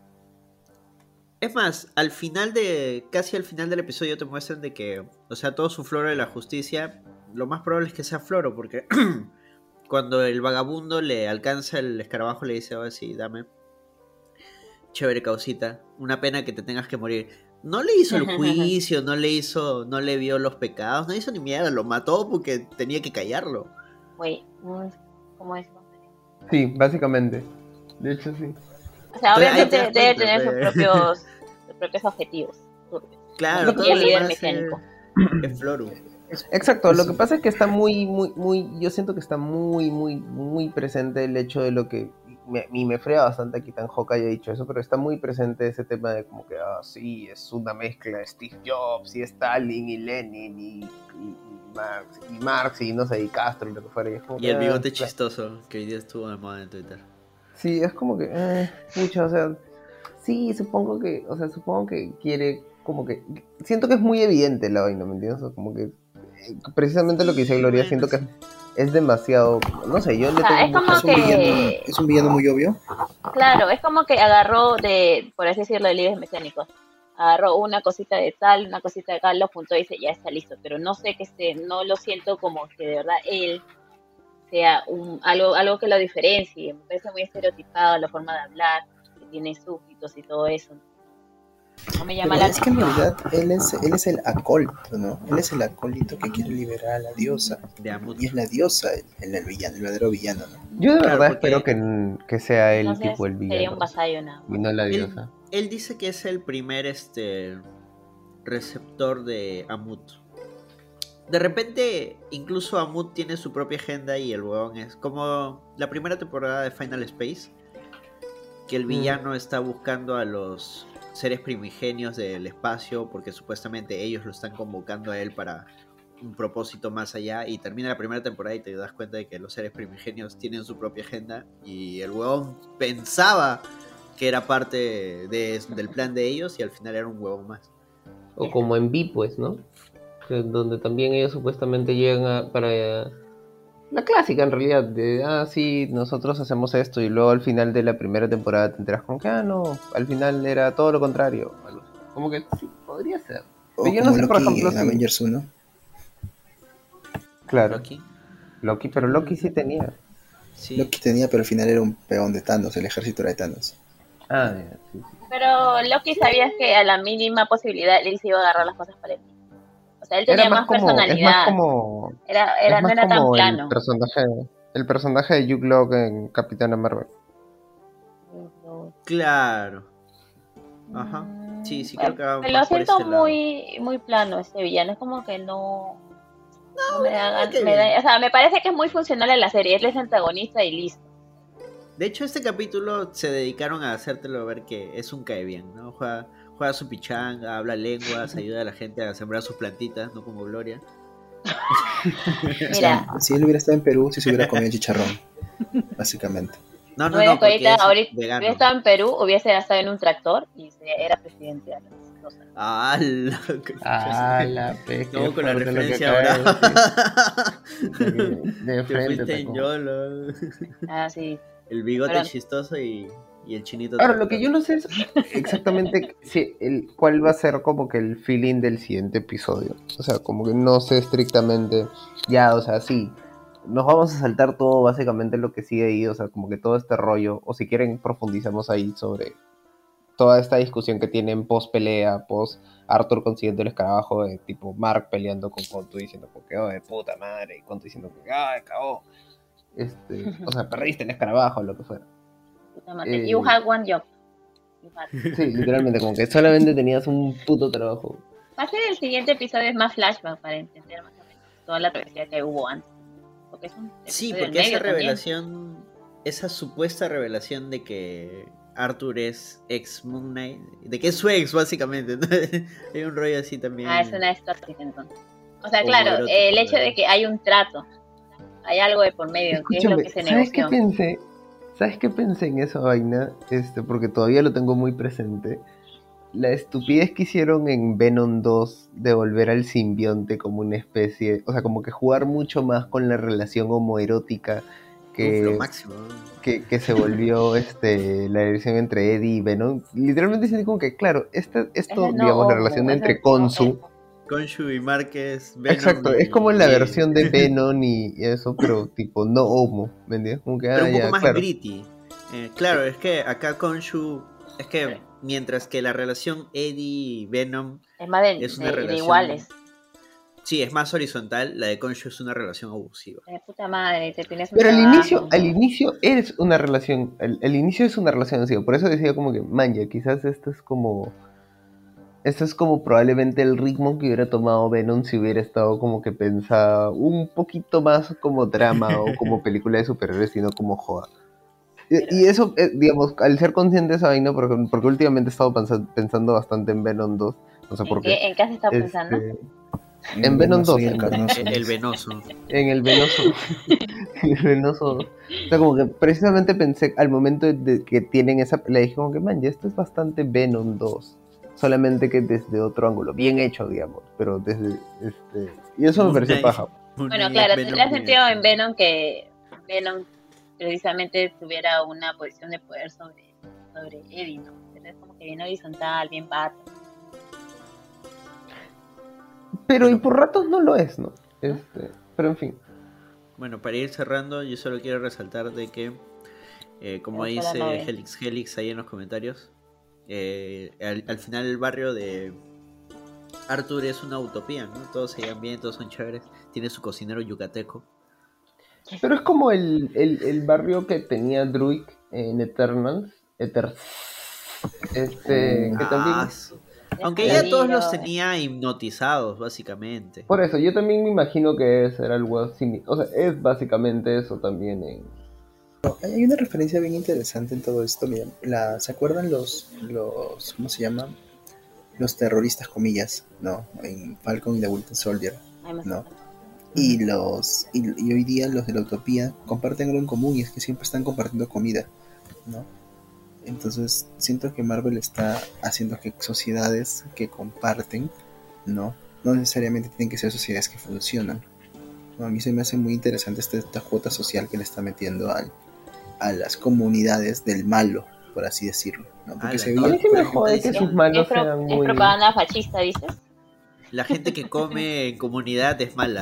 Es más, casi al final del episodio te muestran de que, o sea, todo su floro de la justicia, lo más probable es que sea floro, porque cuando el vagabundo le alcanza el escarabajo, le dice, oh, sí, dame. Chévere causita. Una pena que te tengas que morir. No le hizo el juicio, no le vio los pecados, no hizo ni mierda, lo mató porque tenía que callarlo. Güey, ¿cómo es? Sí, básicamente. De hecho, sí. O sea, obviamente debe tener sus propios objetivos. Claro, y el líder mecánico. Es Floru. Exacto, lo que pasa es que está yo siento que está muy presente el hecho de lo que, me frega bastante que Ethan Hawke haya dicho eso, pero está muy presente ese tema de como que, sí, es una mezcla de Steve Jobs y Stalin y Lenin y Marx y no sé, y Castro y lo que fuera. Y el bigote chistoso que hoy día estuvo de moda en Twitter. Sí, es como que, pucha, o sea, sí, supongo que quiere, como que, siento que es muy evidente la vaina, ¿me entiendes? O como que precisamente lo que dice Gloria, siento que es demasiado, no sé, yo le tengo es un villano muy obvio. Claro, es como que agarró por así decirlo, de líderes mecánicos. Agarró una cosita de tal, una cosita de tal, lo juntó y dice, ya está listo. Pero no sé no lo siento como que de verdad él sea algo que lo diferencie. Me parece muy estereotipado la forma de hablar, que tiene súbditos y todo eso. No me llama Pero la es que en atención. realidad él es el acólito, ¿no? Él es el acólito que quiere liberar a la diosa. De Amut. Y es la diosa el villano, el verdadero villano, ¿no? Yo de Claro, verdad porque espero que sea él Entonces tipo el sería un villano vasallo nada y más. no la él, diosa. él dice que es el primer receptor de Amut. De repente, incluso Amut tiene su propia agenda y el huevón es como la primera temporada de Final Space, que el villano está buscando a los seres primigenios del espacio porque supuestamente ellos lo están convocando a él para un propósito más allá, y termina la primera temporada y te das cuenta de que los seres primigenios tienen su propia agenda y el huevón pensaba que era parte del plan de ellos y al final era un huevón más. O como en Vi, pues, ¿no? Donde también ellos supuestamente llegan para la clásica en realidad, de sí, nosotros hacemos esto y luego al final de la primera temporada te enteras como que no, al final era todo lo contrario. Como que sí, podría ser. Pero O yo no como sé, por Loki ejemplo, en si... Avengers 1. Claro, Loki, pero Loki sí tenía. sí. Loki tenía, pero al final era un peón de Thanos, el ejército era de Thanos. Ah, ya, sí, sí. Pero Loki sabías que a la mínima posibilidad él se iba a agarrar las cosas para él. O sea, él Era tenía más más como, personalidad. es No más era tan como plano. el personaje de Hugh Locke en Capitana Marvel. Claro. Ajá. Sí, creo que va Lo más por siento ese lado. muy plano este villano. Es como que no me da Bueno, qué bien. o sea, me parece que es muy funcional en la serie. Él es antagonista y listo. De hecho, este capítulo se dedicaron a hacértelo ver que es un cae bien, ¿no? Juega su pichanga, habla lenguas, ayuda a la gente a sembrar sus plantitas, no como Gloria. O sea, Mira, si él hubiera estado en Perú, sí se hubiera comido chicharrón, básicamente. No, no es que porque es ahorita vegano. hubiera estado en Perú, hubiese estado en un tractor y era presidente a los 2 años. Ah, La pe, qué no, con la fuerte lo que referencia acaba de brava. De Te frente fuiste en atacó. YOLO. Ah, sí. El bigote Pero chistoso y el chinito Ahora, lo que tractor. yo no sé es exactamente cuál va a ser como que el feeling del siguiente episodio. O sea, como que no sé estrictamente. Ya, o sea, sí. Nos vamos a saltar todo básicamente lo que sigue ahí. O sea, como que todo este rollo. O si quieren, profundizamos ahí sobre toda esta discusión que tienen post pelea, post Arthur consiguiendo el escarabajo, de tipo Mark peleando con Contu diciendo que oh, de puta madre, y Contu diciendo que ay, cagó. O sea, perdiste el escarabajo, lo que fuera. puta madre, you had one job. Sí, literalmente, como que solamente tenías un puto trabajo. Va a ser el siguiente episodio, es más flashback para entender más o menos toda la travesía que hubo antes. Porque es un Sí, episodio del porque esa medio también. revelación, esa supuesta revelación de que Arthur es ex Moon Knight, de que es su ex básicamente, ¿no? Hay un rollo así también. Es una estática entonces. O sea, claro, homoerótico, el hecho ¿no? de que hay un trato, hay algo de por medio, que es lo Escúchame, que se ¿sabes qué negoció. pensé? ¿Sabes qué pensé en esa vaina? Porque todavía lo tengo muy presente. La estupidez que hicieron en Venom 2 de volver al simbionte como una especie, o sea, como que jugar mucho más con la relación homoerótica Lo que, máximo. que se volvió la relación entre Eddie y Venom. Literalmente siento como que, claro, esto, Ese no digamos, la homo, relación ese entre no Khonshu. Khonshu y Márquez, Venom Exacto, es como y la Eddie. versión de Venom y eso, pero tipo no homo, ¿me entiendes? Como que, Pero un poco ya, más claro. gritty. Claro, es que acá Khonshu, es que mientras que la relación Eddie y Venom es más es una de relación... iguales. Sí, es más horizontal, la de Khonshu es una relación abusiva. De puta madre, te tienes un Pero trabajo. al inicio es una relación, el inicio es una relación así, por eso decía como que, man, ya, quizás esto es como probablemente el ritmo que hubiera tomado Venom si hubiera estado como que pensado un poquito más como drama o como película de superhéroes, sino como joda. Y eso, digamos, al ser consciente de esa vaina, porque últimamente he estado pensando bastante en Venom 2, no sé por qué. ¿En qué has estado pensando? En Venom 2, Y el carnoso. El venoso. en el Venoso. En el Venoso 2. O sea, como que precisamente pensé al momento de que tienen esa pelea, dije como que, man, ya esto es bastante Venom 2. Solamente que desde otro ángulo, bien hecho, digamos, pero desde y eso me pareció paja. Bueno, claro, tendría sentido en Venom que Venom precisamente tuviera una posición de poder sobre Eddie, ¿no? Pero es como que bien horizontal, bien pato. Pero y por ratos no lo es, ¿no? Pero en fin. bueno, para ir cerrando, yo solo quiero resaltar de que, como dice Helix ahí en los comentarios, al final el barrio de Arthur es una utopía, ¿no? Todos se llevan bien, todos son chéveres. Tiene su cocinero yucateco. Pero es como el barrio que tenía Druid en Eternals. Que también... Aunque ya todos los tenía hipnotizados, básicamente. Por eso, yo también me imagino que era algo así. O sea, es básicamente eso también en... Hay una referencia bien interesante en todo esto. Miren, ¿se acuerdan los ¿cómo se llaman? Los terroristas, comillas, ¿no? En Falcon y The Winter Soldier, ¿no? Y hoy día los de la utopía comparten algo en común, y es que siempre están compartiendo comida, ¿no? Entonces siento que Marvel está haciendo que sociedades que comparten, no necesariamente tienen que ser sociedades que funcionan, ¿no? A mí se me hace muy interesante esta cuota social que le está metiendo a las comunidades del malo, por así decirlo, ¿no? Porque a mí sí me jode que sus malos sean muy... ¿Es propaganda fascista, dices? La gente que come en comunidad es mala.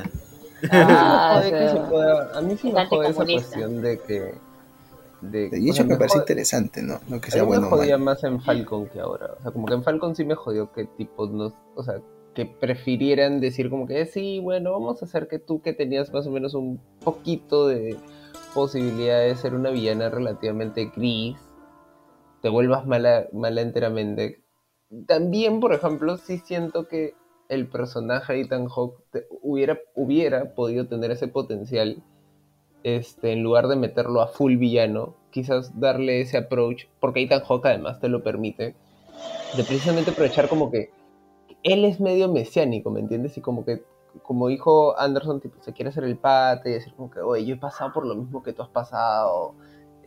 A mí sí me jode esa cuestión de que... Y hecho me parece interesante, ¿no? No que sea bueno o malo. Me jodía más en Falcon que ahora. O sea, como que en Falcon sí me jodió que tipo no... O sea, que prefirieran decir como que sí, bueno, vamos a hacer que tú, que tenías más o menos un poquito de posibilidad de ser una villana relativamente gris, te vuelvas mala enteramente. También, por ejemplo, sí siento que el personaje de Ethan Hawke hubiera podido tener ese potencial, en lugar de meterlo a full villano, quizás darle ese approach, porque Ethan Hawke además te lo permite, de precisamente aprovechar como que él es medio mesiánico, ¿me entiendes? Y como que, como dijo Anderson, tipo, se quiere hacer el pate y decir como que, oye, yo he pasado por lo mismo que tú has pasado,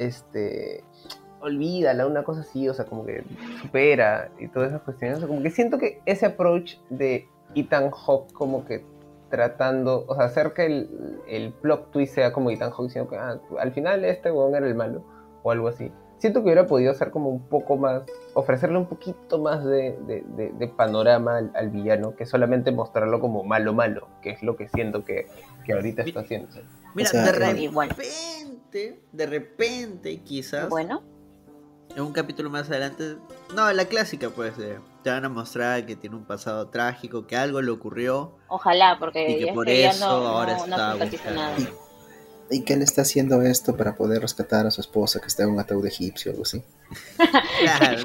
olvídala, una cosa así, o sea, como que supera y todas esas cuestiones. O sea, como que siento que ese approach de Ethan Hawke como que tratando, o sea, hacer que el plot twist sea como Ethan Hawke diciendo que al final este huevón era el malo, o algo así. Siento que hubiera podido hacer como un poco más, ofrecerle un poquito más de panorama al villano, que solamente mostrarlo como malo, que es lo que siento que ahorita está haciendo. Mira, de repente, quizás, bueno, en un capítulo más adelante, no, la clásica, pues, te van a mostrar que tiene un pasado trágico, que algo le ocurrió. Ojalá, porque y que por eso ahora está nada. ¿Y que él está haciendo esto para poder rescatar a su esposa que está en un ataúd egipcio o algo así? Claro,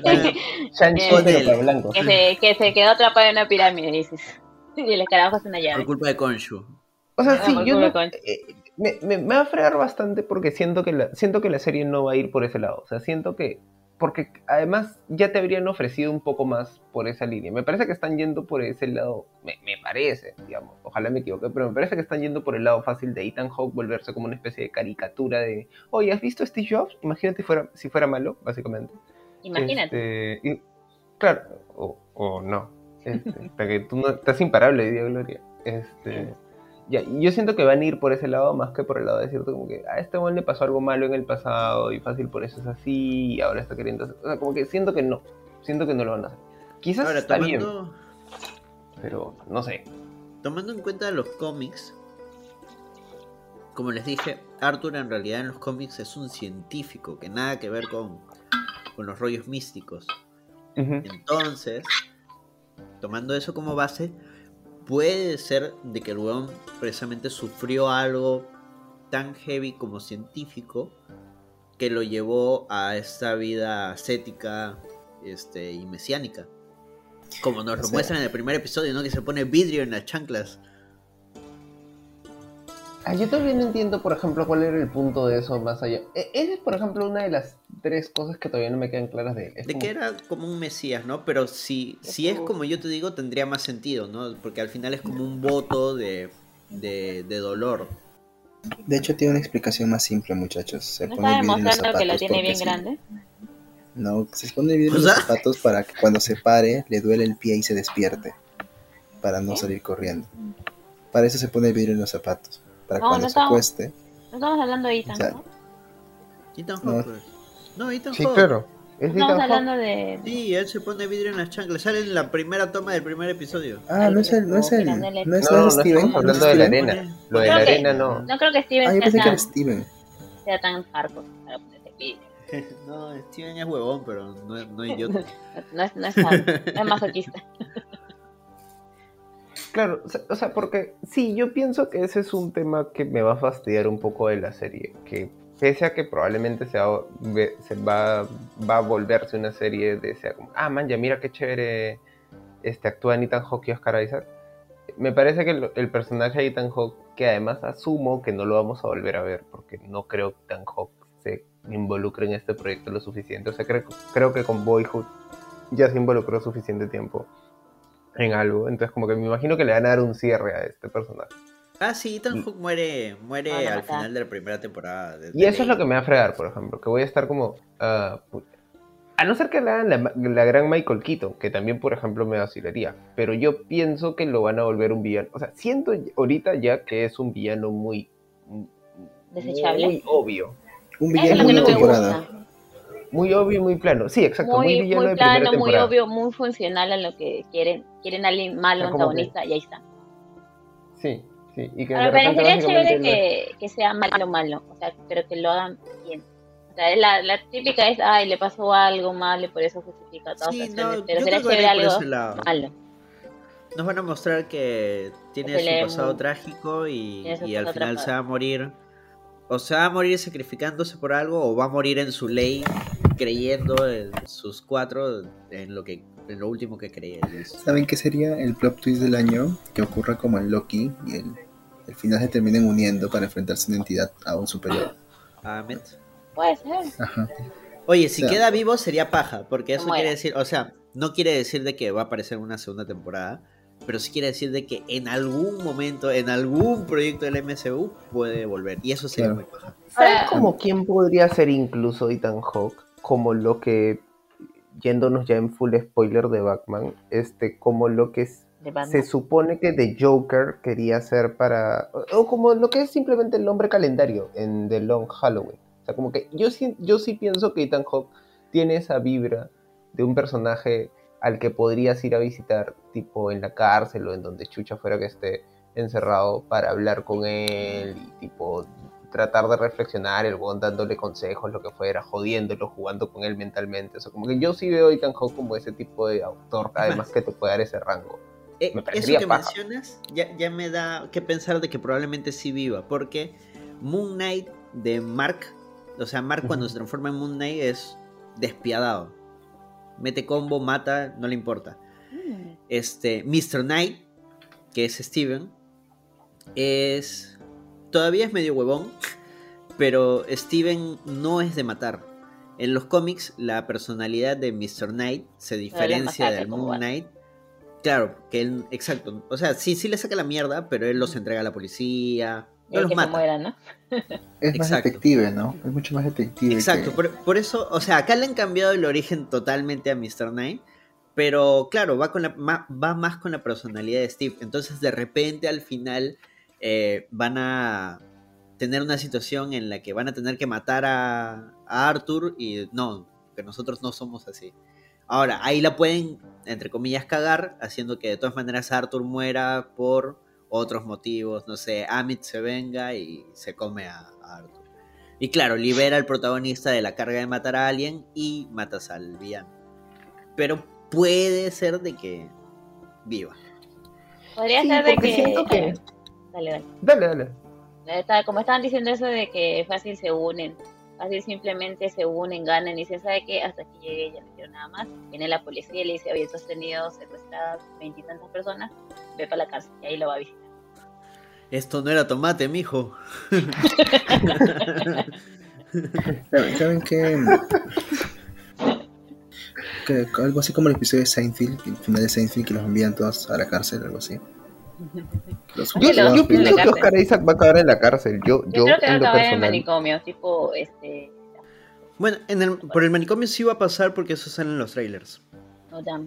que se quedó atrapada en una pirámide, dices. Y el carajo es una llave. Por culpa de Khonshu. O sea, sí, yo no, me va a fregar bastante porque siento que la serie no va a ir por ese lado. O sea, siento que... Porque además ya te habrían ofrecido un poco más por esa línea. Me parece que están yendo por ese lado, me parece, digamos, ojalá me equivoque, pero me parece que están yendo por el lado fácil de Ethan Hawke volverse como una especie de caricatura de, oye, ¿has visto Steve Jobs? Imagínate si fuera malo, básicamente. Imagínate. Claro, o no. Porque tú no estás imparable, Día Gloria. Ya, yo siento que van a ir por ese lado más que por el lado de decirte como que a este hombre le pasó algo malo en el pasado y fácil por eso es así y ahora está queriendo hacer... O sea, como que siento que no lo van a hacer. Quizás ahora, está bien, pero no sé. Tomando en cuenta los cómics, como les dije, Arthur en realidad en los cómics es un científico que nada que ver con los rollos místicos. Uh-huh. Entonces, tomando eso como base, puede ser de que el weón precisamente sufrió algo tan heavy como científico que lo llevó a esta vida ascética y mesiánica. Como nos lo muestran en el primer episodio, ¿no? Que se pone vidrio en las chanclas. Yo todavía no entiendo, por ejemplo, cuál era el punto de eso más allá. Esa es, por ejemplo, una de las 3 cosas que todavía no me quedan claras de él. Que era como un mesías, ¿no? Pero si es como yo te digo, tendría más sentido, ¿no? Porque al final es como un voto de dolor. De hecho, tiene una explicación más simple, muchachos. Se ¿No pone está vidrio en los demostrando zapatos que la tiene bien sí. grande? No, se pone vidrio en los zapatos para que cuando se pare le duele el pie y se despierte. Para no salir corriendo. Para eso se pone vidrio en los zapatos. Para cuando se acueste. No estamos hablando de Ethan, ¿no? Ethan Hawke. No, Ethan sí, Hawke. Claro. ¿Es Estamos Ethan hablando Hawke? de... Sí, él se pone vidrio en las chanclas. Sale en la primera toma del primer episodio. Ah, no es el, no es el, no es, no No, es no Steven, estamos no es hablando de la Steven. arena. Lo de Creo la que- arena no. No creo que Steven Ah, yo pensé que era sea, Steven. sea tan hardcore para ponerse vidrio. No, Steven es huevón, pero no idiota. No es hardcore, no es masoquista. Claro, o sea, porque sí, yo pienso que ese es un tema que me va a fastidiar un poco de la serie, que pese a que probablemente va a volverse una serie de, sea como, man, ya mira qué chévere actúa Ethan Hawke y Oscar Isaac, me parece que el personaje de Ethan Hawke, que además asumo que no lo vamos a volver a ver, porque no creo que Ethan Hawke se involucre en este proyecto lo suficiente, o sea, creo que con Boyhood ya se involucró suficiente tiempo en algo, entonces como que me imagino que le van a dar un cierre a este personaje. Ah, sí, Ethan Hawke muere Van a al matar. final de la primera temporada. Y eso es lo que me va a fregar, por ejemplo, que voy a estar como... a no ser que le hagan la gran Michael Keaton, que también, por ejemplo, me vacilaría, pero yo pienso que lo van a volver un villano. O sea, siento ahorita ya que es un villano muy Desechable. muy obvio. Un Eso es villano lo de que una no me temporada. gusta. Muy obvio y muy plano. Sí, exacto, muy villano Muy de primera plano, muy temporada. obvio, muy funcional a lo que quieren. Quieren a alguien malo, O sea, como antagonista, y ahí está. Sí, y que Ahora, de repente parecería básicamente chévere que sea malo. O sea, pero que lo hagan bien. O sea, la típica es, ay, le pasó algo malo y por eso justifica todas Sí, las acciones. no, Pero yo sería creo que chévere van a ir por algo ese lado. malo. Nos van a mostrar que tiene Que su le- pasado trágico y tiene su al pasado final atrapado. se va a morir. O se va a morir sacrificándose por algo, o va a morir en su ley, creyendo en sus cuatro, en lo último que creía. ¿Saben qué sería el plot twist del año? Que ocurra como en Loki y el final se terminen uniendo para enfrentarse una entidad aún superior. Ahmed. Puede ser. Ajá. Oye, si O sea, queda vivo sería paja, porque eso muera. quiere decir, o sea, no quiere decir de que va a aparecer una segunda temporada, pero sí quiere decir de que en algún momento, en algún proyecto del MCU puede volver, y eso sería Claro. muy paja. ¿Sabes Ahora- como quién podría ser incluso Ethan Hawke? Como lo que, yéndonos ya en full spoiler de Batman, como lo que De Batman. se supone que The Joker quería hacer o como lo que es simplemente el nombre calendario en The Long Halloween. O sea, como que yo sí pienso que Ethan Hawke tiene esa vibra de un personaje al que podrías ir a visitar, tipo en la cárcel o en donde chucha fuera que esté encerrado, para hablar con él y tipo tratar de reflexionar, el weón dándole consejos, lo que fuera, jodiéndolo, jugando con él mentalmente. O sea, como que yo sí veo a Ethan Hawke como ese tipo de autor, además que te puede dar ese rango. Me Eso parecería que paja. mencionas ya me da que pensar de que probablemente sí viva, porque Moon Knight de Mark, o sea, Mark cuando se transforma en Moon Knight es despiadado. Mete combo, mata, no le importa. Mr. Knight, que es Steven, todavía es medio huevón, pero Steven no es de matar. En los cómics, la personalidad de Mr. Knight se diferencia del Moon Knight. Claro, que él, exacto. O sea, sí le saca la mierda, pero él los entrega a la policía. No los que mata. se mueran, ¿no? Es más Exacto. detective, ¿no? Es mucho más detective. Exacto, por eso, o sea, acá le han cambiado el origen totalmente a Mr. Knight, pero claro, va más con la personalidad de Steve. Entonces, de repente, al final, van a tener una situación en la que van a tener que matar a Arthur y no, que nosotros no somos así. Ahora, ahí la pueden, entre comillas, cagar, haciendo que de todas maneras Arthur muera por otros motivos, no sé, Amit se venga y se come a Arthur. Y claro, libera al protagonista de la carga de matar a alguien y matas al villano. Pero puede ser de que viva. Podría Sí, ser de porque que... siento que... Dale. Dale. Como estaban diciendo eso de que fácil se unen, fácil simplemente se unen, ganan y dicen, ¿sabe qué? Hasta aquí llegué, ya no quiero nada más. Viene la policía y le dice, oye, tú has tenido secuestradas 20 y tantas personas, ve para la cárcel y ahí lo va a visitar. Esto no era tomate, mijo. ¿Saben qué? Que algo así como el episodio de Seinfeld, el final de Seinfeld, que los envían todos a la cárcel, algo así. Yo pienso que Oscar Isaac va a acabar en la cárcel. Yo creo que va a en lo acabar en el personal. manicomio, tipo, Bueno, por el manicomio sí va a pasar porque eso sale en los trailers. no damn.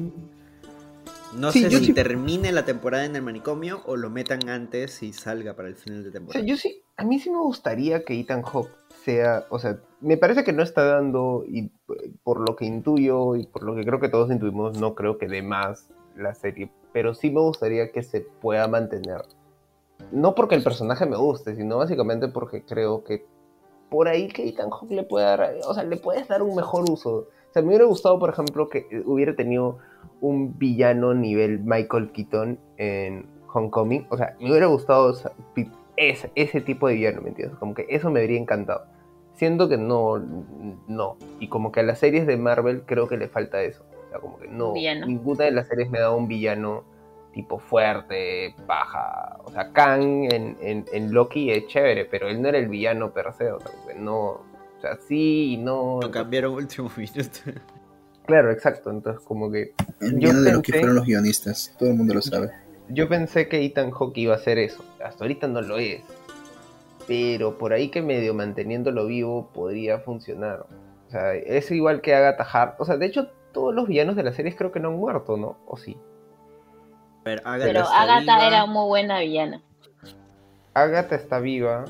No Sí, sé yo si sí- termine la temporada en el manicomio o lo metan antes y salga para el final de O sea, temporada. a mí sí me gustaría que Ethan Hawke sea, o sea, me parece que no está dando, y por lo que intuyo y por lo que creo que todos intuimos, no creo que dé más la serie, pero sí me gustaría que se pueda mantener. No porque el personaje me guste, sino básicamente porque creo que por ahí que Ethan Hawke le puede dar, o sea, le puedes dar un mejor uso. O sea, me hubiera gustado, por ejemplo, que hubiera tenido un villano nivel Michael Keaton en Homecoming. O sea, me hubiera gustado, o sea, ese tipo de villano, ¿me entiendes? Como que eso me habría encantado. Siendo que no. Y como que a las series de Marvel creo que le falta eso. O sea, como que no, Villano. ninguna de las series me da un villano tipo fuerte, paja. O sea, Kang en Loki es chévere, pero él no era el villano per se. O sea, como que no. O sea, sí y no. Lo cambiaron último minuto. Claro, exacto. Entonces, como que. El Yo villano de Loki pensé- fueron los guionistas, todo el mundo lo sabe. Yo pensé que Ethan Hawke iba a hacer eso. Hasta ahorita no lo es. Pero por ahí que medio manteniéndolo vivo podría funcionar. O sea, es igual que Agatha Harkness. O sea, de hecho, todos los villanos de las series creo que no han muerto, ¿no? ¿O sí? A ver, Pero está Agatha viva. era muy buena villana. Agatha está viva.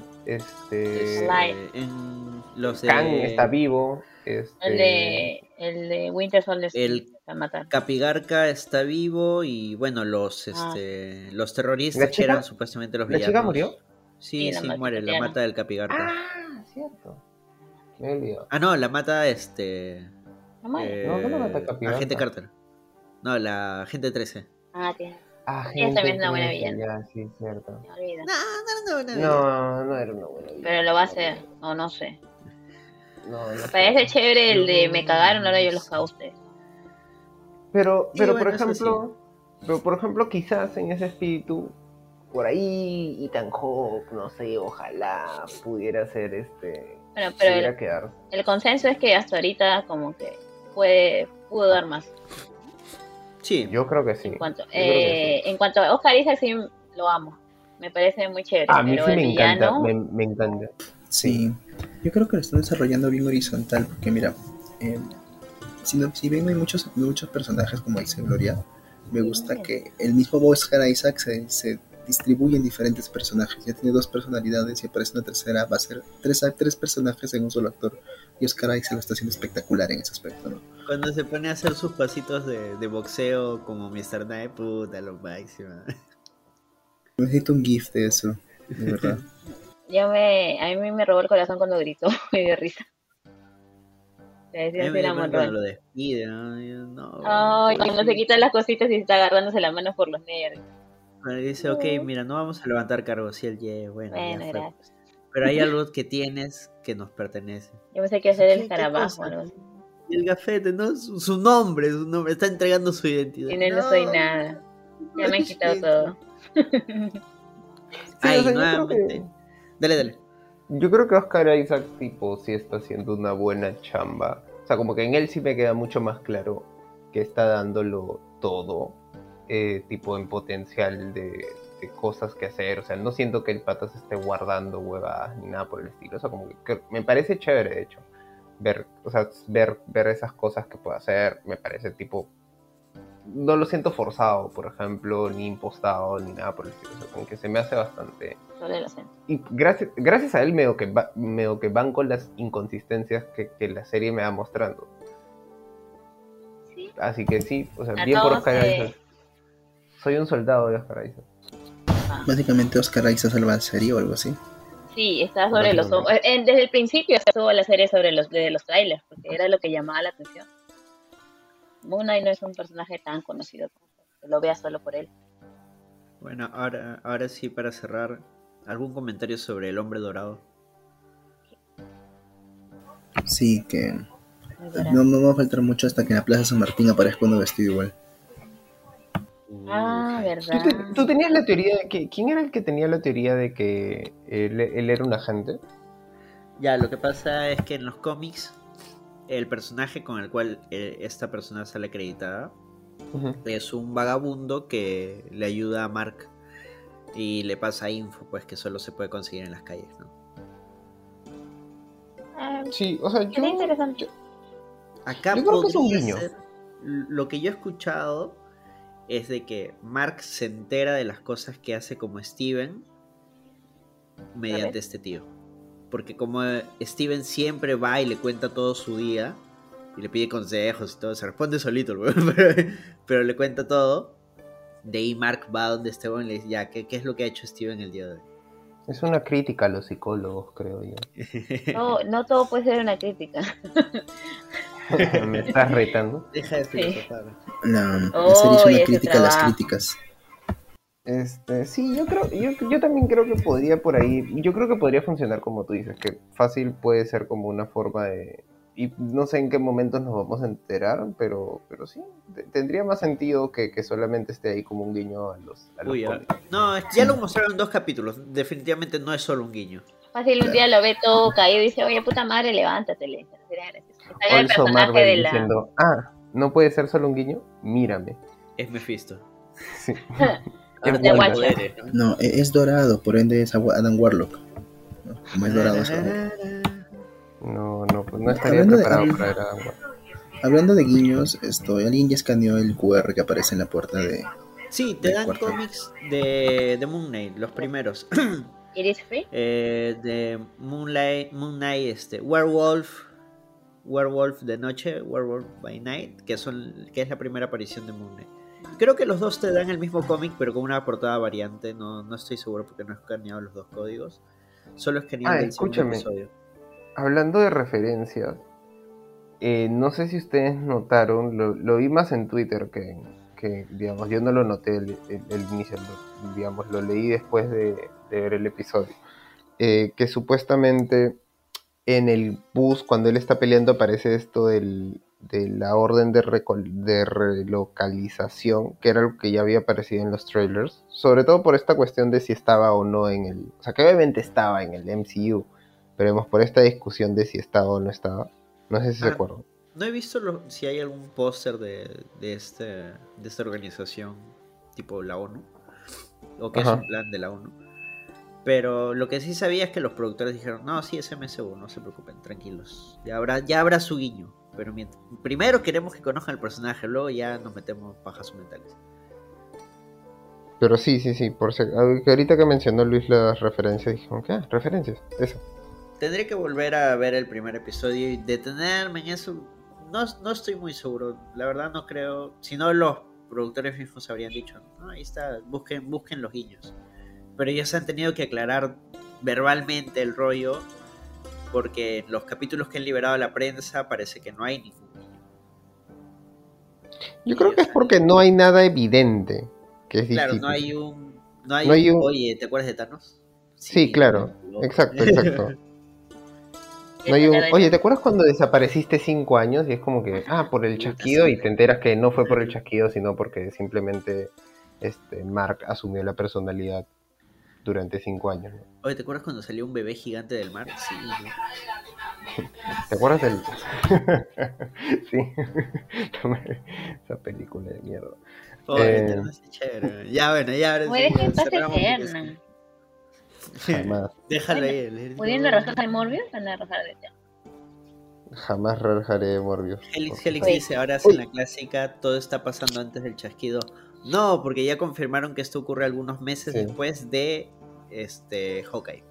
En los Kang de está vivo. El de Winter Soldier El- la mataron. Capigarca está vivo y bueno, los terroristas ¿La que chica? eran supuestamente los ¿La villanos. chica murió? Sí, Sí, la muere, la mataron. mata del Capigarca. Ah, cierto. Me he olvidado. No, la mata No muere. No, la mata Capigarca. Agente Carter. No, la Agente 13. Tiene. Ah, Ella también es una buena 13, villana. ya, sí, cierto. Me olvido. No era una buena villana. Pero lo va a hacer. O no sé. No Parece chévere el de me cagaron, ahora yo los cago a ustedes. Pero, Sí, pero bueno, por ejemplo, quizás en ese espíritu, por ahí Ethan Hawke, no sé, ojalá pudiera ser Bueno, pero pudiera quedar. el consenso es que hasta ahorita como que pudo dar más. Sí, Yo creo que sí. En cuanto, Yo creo que sí. en cuanto a Oscar Isaac, sí lo amo. Me parece muy chévere. A mí pero sí el me encanta, villano, me encanta. Sí, yo creo que lo están desarrollando bien horizontal, porque mira, si bien no hay muchos personajes, como dice Gloria, me gusta que el mismo Oscar Isaac se distribuye en diferentes personajes. Ya tiene 2 personalidades y aparece una tercera, va a ser 3 personajes en un solo actor. Y Oscar Isaac lo está haciendo espectacular en ese aspecto, ¿no? cuando se pone a hacer sus pasitos de boxeo como Mr. Knight, puta, lo máximo. Necesito un GIF de eso, de verdad. a mí me robó el corazón cuando gritó, me dio risa. Le A decía mí así me la dio pena cuando Monroy. lo despide, ¿no? Yo, no, Ay, cuando se quita las cositas y está agarrándose la mano por los nervios. Bueno, y dice, ok, mira, no vamos a levantar cargos. Y él, yeah, bueno, ya Bueno, fue. gracias. Pero hay algo que tienes que nos pertenece. Yo pensé que iba a ser el ¿Qué escarabajo o cosa? algo así. Y el gafete, ¿no? Su nombre, está entregando su identidad. Y no soy nada. Ya me han quitado todo. Sí, Ay, o sea, nuevamente. Dale. yo creo que Oscar Isaac tipo sí está haciendo una buena chamba. O sea, como que en él sí me queda mucho más claro que está dándolo todo, tipo en potencial de cosas que hacer. O sea, no siento que el pata se esté guardando huevadas ni nada por el estilo. O sea, como que me parece chévere, de hecho, ver esas cosas que puede hacer. Me parece tipo, no lo siento forzado, por ejemplo, ni impostado, ni nada por el estilo. O sea, como que se me hace bastante. Solo lo siento. Y gracias a él medio que van con las inconsistencias que la serie me va mostrando. Sí. Así que sí, o sea, A bien por todos, Oscar Isaac. Soy un soldado de Oscar Isaac. Básicamente Oscar Isaac salva la serie o algo así. Sí, está sobre los ojos. Desde el principio estuvo la serie sobre los trailers, porque era lo que llamaba la atención. Moon Knight no es un personaje tan conocido como que lo veas solo por él. Bueno, ahora sí, para cerrar, ¿algún comentario sobre el Hombre Dorado? Sí, que Muy dorado. no me va a faltar mucho hasta que en la Plaza San Martín aparezca uno vestido igual. Verdad. ¿Tú tenías la teoría de que... ¿Quién era el que tenía la teoría de que él era un agente? Ya, lo que pasa es que en los cómics, el personaje con el cual esta persona sale acreditada es un vagabundo que le ayuda a Mark y le pasa info, pues que solo se puede conseguir en las calles, ¿no? Sí, o sea, Sería interesante. Acá yo creo que es un podría guiño. ser. Lo que yo he escuchado es de que Mark se entera de las cosas que hace como Steven mediante este tío. porque como Steven siempre va y le cuenta todo su día, y le pide consejos y todo, se responde solito, pero le cuenta todo. De ahí Mark va donde Esteban y le dice, ya, ¿qué es lo que ha hecho Steven el día de hoy? Es una crítica a los psicólogos, creo yo. No todo puede ser una crítica. Me estás retando. Deja de Sí. filosofar. La serie es Oh, una ese crítica a las trabajo. críticas. Sí, yo también creo que podría por ahí, yo creo que podría funcionar como tú dices, que fácil puede ser como una forma de, y no sé en qué momentos nos vamos a enterar, pero sí, tendría más sentido que solamente esté ahí como un guiño a los Uy, cómics. no, ya lo mostraron en 2 capítulos. Definitivamente no es solo un guiño. Fácil, un día lo ve todo caído y dice, oye, puta madre, levántate. Le dice, sería gracioso. Que salga el Also personaje Marvel de la... diciendo, no puede ser solo un guiño, mírame. Es Mephisto. Sí. Ahora Es tiene Wanda. poderes, ¿no? No, es dorado, por ende es Adam Warlock. ¿No? Como es dorado, es dorado. No, pues no estaría Hablando de- preparado habl- para Dragon Ball. Hablando de guiños, alguien ya escaneó el QR que aparece en la puerta de... Sí, te del dan cuarto. cómics de Moon Knight, los primeros. ¿It is free? De Moon Knight, Werewolf de noche, Werewolf by Night, que es la primera aparición de Moon Knight. Creo que los dos te dan el mismo cómic, pero con una portada variante. No estoy seguro porque no he escaneado los 2 códigos. Solo escaneé el del segundo Escúchame. episodio. Hablando de referencias, no sé si ustedes notaron, lo vi más en Twitter que digamos, yo no lo noté el inicio, digamos, lo leí después de ver el episodio. Que supuestamente en el bus, cuando él está peleando, aparece esto de la orden de relocalización, que era algo que ya había aparecido en los trailers, sobre todo por esta cuestión de si estaba o no en el... O sea, que obviamente estaba en el MCU, pero vemos por esta discusión de si estaba o no estaba. No sé si se acuerdan. No he visto si hay algún póster de esta organización, tipo la ONU, o que es un plan de la ONU. Pero lo que sí sabía es que los productores dijeron, no, sí es MCU, no se preocupen, tranquilos. Ya habrá su guiño. Pero primero queremos que conozcan el personaje, luego ya nos metemos pajas mentales. Pero sí, que ahorita que mencionó Luis las referencias, dijimos, ¿qué? Referencias, eso. Tendré que volver a ver el primer episodio y detenerme en eso. No estoy muy seguro, la verdad no creo. Si no, los productores mismos habrían dicho, no, ahí está, busquen los guiños. Pero ellos se han tenido que aclarar verbalmente el rollo, porque en los capítulos que han liberado a la prensa parece que no hay ningún guiño. Yo creo que es porque no hay nada evidente, que es claro, distinto. no hay un... Oye, ¿te acuerdas de Thanos? Sí, claro, exacto. No hay oye, ¿te acuerdas cuando desapareciste 5 años? Y es como que, por el chasquido, y te enteras que no fue por el chasquido, sino porque simplemente Mark asumió la personalidad durante 5 años, ¿no? Oye, ¿te acuerdas cuando salió un bebé gigante del mar? Sí, ¿no? ¿Te acuerdas del...? Sí. Esa película de mierda. Eterna es chévere. Ya, bueno, ya ahora Puede ser paz cerramos eterna. Jamás. Déjalo ahí. Pudiendo rajar de Morbius, van a rajar de Eterna. Jamás rajaré Morbius. Helix dice, ahora hacen la clásica, todo está pasando antes del chasquido. No, porque ya confirmaron que esto ocurre algunos meses después de Hawkeye.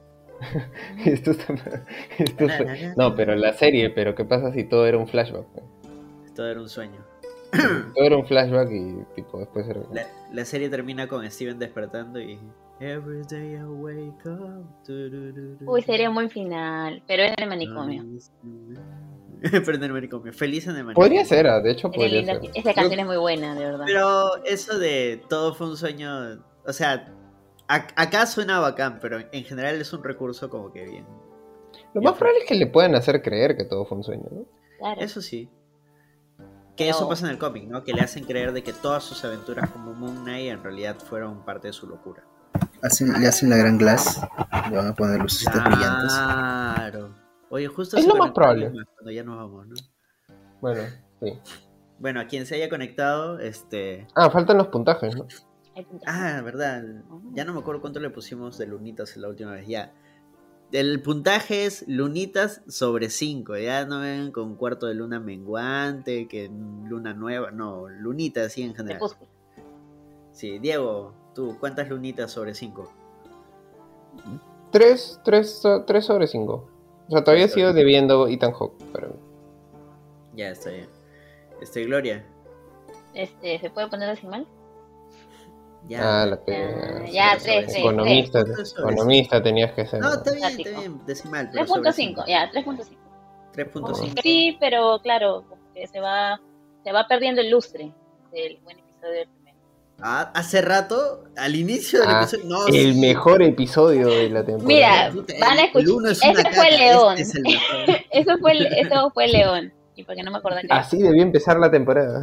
No, pero la serie, pero ¿qué pasa si todo era un flashback? Todo era un sueño. Todo era un flashback y tipo después era... La serie termina con Steven despertando y... Every day I wake up. Uy, sería un buen final, pero es en el manicomio. Pero en el manicomio. Feliz en el manicomio. Podría ser, de hecho podría ser. Esa canción es muy buena, de verdad. Pero eso de todo fue un sueño... O sea, acá suena bacán, pero en general es un recurso como que bien... Lo más probable es que le puedan hacer creer que todo fue un sueño, ¿no? Claro. Eso sí. Que eso pasa en el cómic, ¿no? Que le hacen creer de que todas sus aventuras como Moon Knight en realidad fueron parte de su locura. Le hacen la gran glass, le van a poner lucecitas brillantes. Claro. Oye, justo es lo más probable. Cuando ya nos vamos, ¿no? Bueno, sí. Bueno, a quien se haya conectado, faltan los puntajes, ¿no? Verdad. Ya no me acuerdo cuánto le pusimos de lunitas la última vez. Ya. El puntaje es lunitas sobre 5. Ya no ven con cuarto de luna menguante, que luna nueva. No, lunitas así en general. Sí, Diego, tú, ¿cuántas lunitas sobre 5? 3 sobre 5. O sea, todavía sigo debiendo Ethan Hawke, pero... Ya, está bien. Gloria. ¿Se puede poner decimal? Ya. la pena. Ya, Sobre 3. Economista tenías que ser. No, está bien, decimal. 3.5, ya, 3.5. 3.5. Sí, pero claro, como que se va perdiendo el lustre del buen episodio del primero. Hace rato, al inicio del episodio. No, el mejor episodio de la temporada. Mira, Puta, van a escuchar. el uno es una Ese caca, fue León. este es el mejor. Eso fue León. Y porque no me acordaba que Así debió empezar la temporada.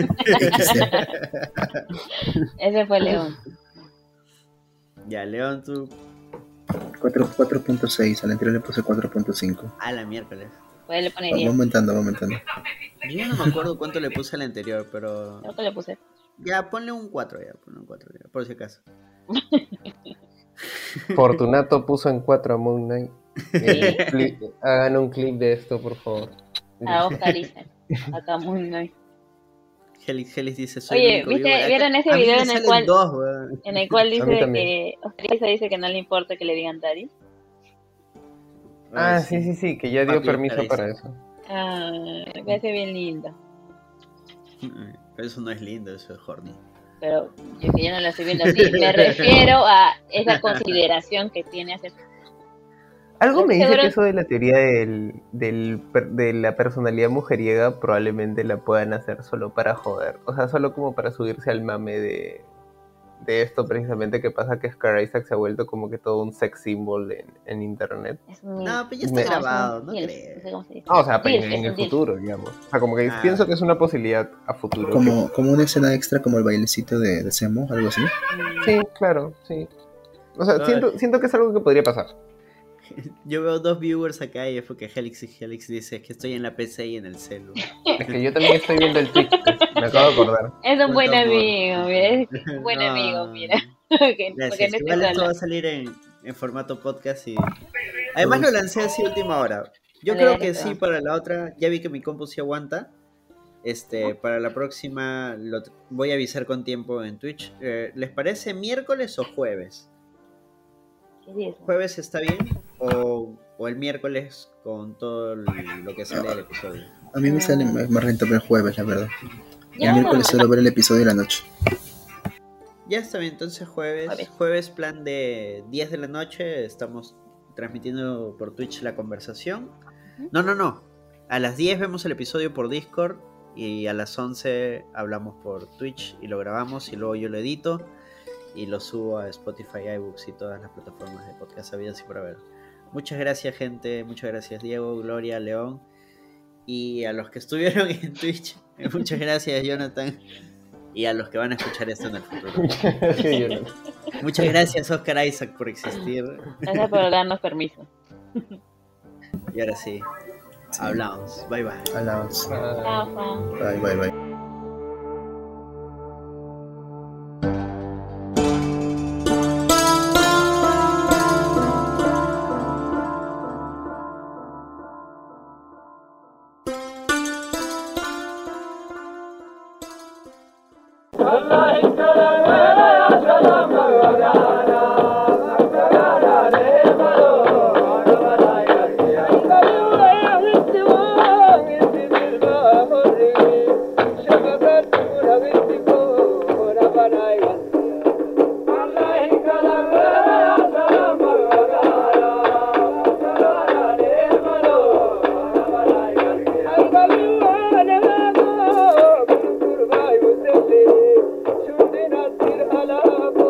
ese fue León. Ya, León, tú. 4.6, al anterior le puse 4.5. A la miércoles. Pues le pone Va 10. aumentando. Yo no me acuerdo cuánto le puse al anterior, pero. Creo que le puse. Ya, ponle un 4 ya, por si acaso. Fortunato puso en 4 a Moon Knight. Hagan un clip de esto, por favor. A Oscar Isaac. Acá muy nice. Helix dice, soy Oye, el único vivo de acá. ¿vieron ese A mí video me en el salen cual dos, weón. mí también. que Oscar Isaac dice que no le importa que le digan daddy? Sí, que ya dio Papi permiso Oscar para Isaac. eso. Me parece bien lindo. Pero eso no es lindo, eso es horny. Pero yo que ya no lo estoy viendo así, me refiero a esa consideración que tiene hacia... Algo me dice Seguro- que eso de la teoría de la personalidad mujeriega probablemente la puedan hacer solo para joder. O sea, solo como para subirse al mame de esto precisamente que pasa que Oscar Isaac se ha vuelto como que todo un sex symbol en internet. Es un... No, pero ya Me- está grabado, no Dilf, creo. no sé cómo se dice. O sea, Dilf, en es el un dilf. futuro, digamos. O sea, como que Ah. pienso que es una posibilidad a futuro. Como una escena extra como el bailecito de Semo, algo así. Sí, claro, sí. O sea, Ay. siento que es algo que podría pasar. Yo veo dos viewers acá y es porque Helix dice que estoy en la PC y en el celu. Es que yo también estoy viendo el Twitch, me acabo de acordar. Es un buen Cuánto amor. amigo, mira. Es un buen No. amigo, mira. Porque no Gracias. esté Igual esto sola. va a salir en formato podcast y... Además lo lancé así a última hora. Yo Dale, creo dale, que perdón. sí, para la otra, ya vi que mi compu sí aguanta. Para la próxima voy a avisar con tiempo en Twitch. ¿Les parece miércoles o jueves? ¿Qué es eso? ¿Jueves está bien? ¿O el miércoles con todo lo que sale del episodio? A mí me sale más rentable el jueves, la verdad. Ya, El miércoles no, suelo ver el episodio de la noche. Ya está bien, entonces Jueves. jueves plan de 10 de la noche, estamos transmitiendo por Twitch la conversación. No, a las 10 vemos el episodio por Discord y a las 11 hablamos por Twitch y lo grabamos y luego yo lo edito y lo subo a Spotify, iBooks y todas las plataformas de podcast habidas y por haber. Muchas gracias, gente, muchas gracias Diego, Gloria, León y a los que estuvieron en Twitch, muchas gracias Jonathan. Y a los que van a escuchar esto en el futuro. Muchas gracias, Oscar Isaac, por existir. Gracias por darnos permiso. Y ahora sí, hablamos. Bye bye. Hablamos. Chao, Juan. Bye. Shundina tir ala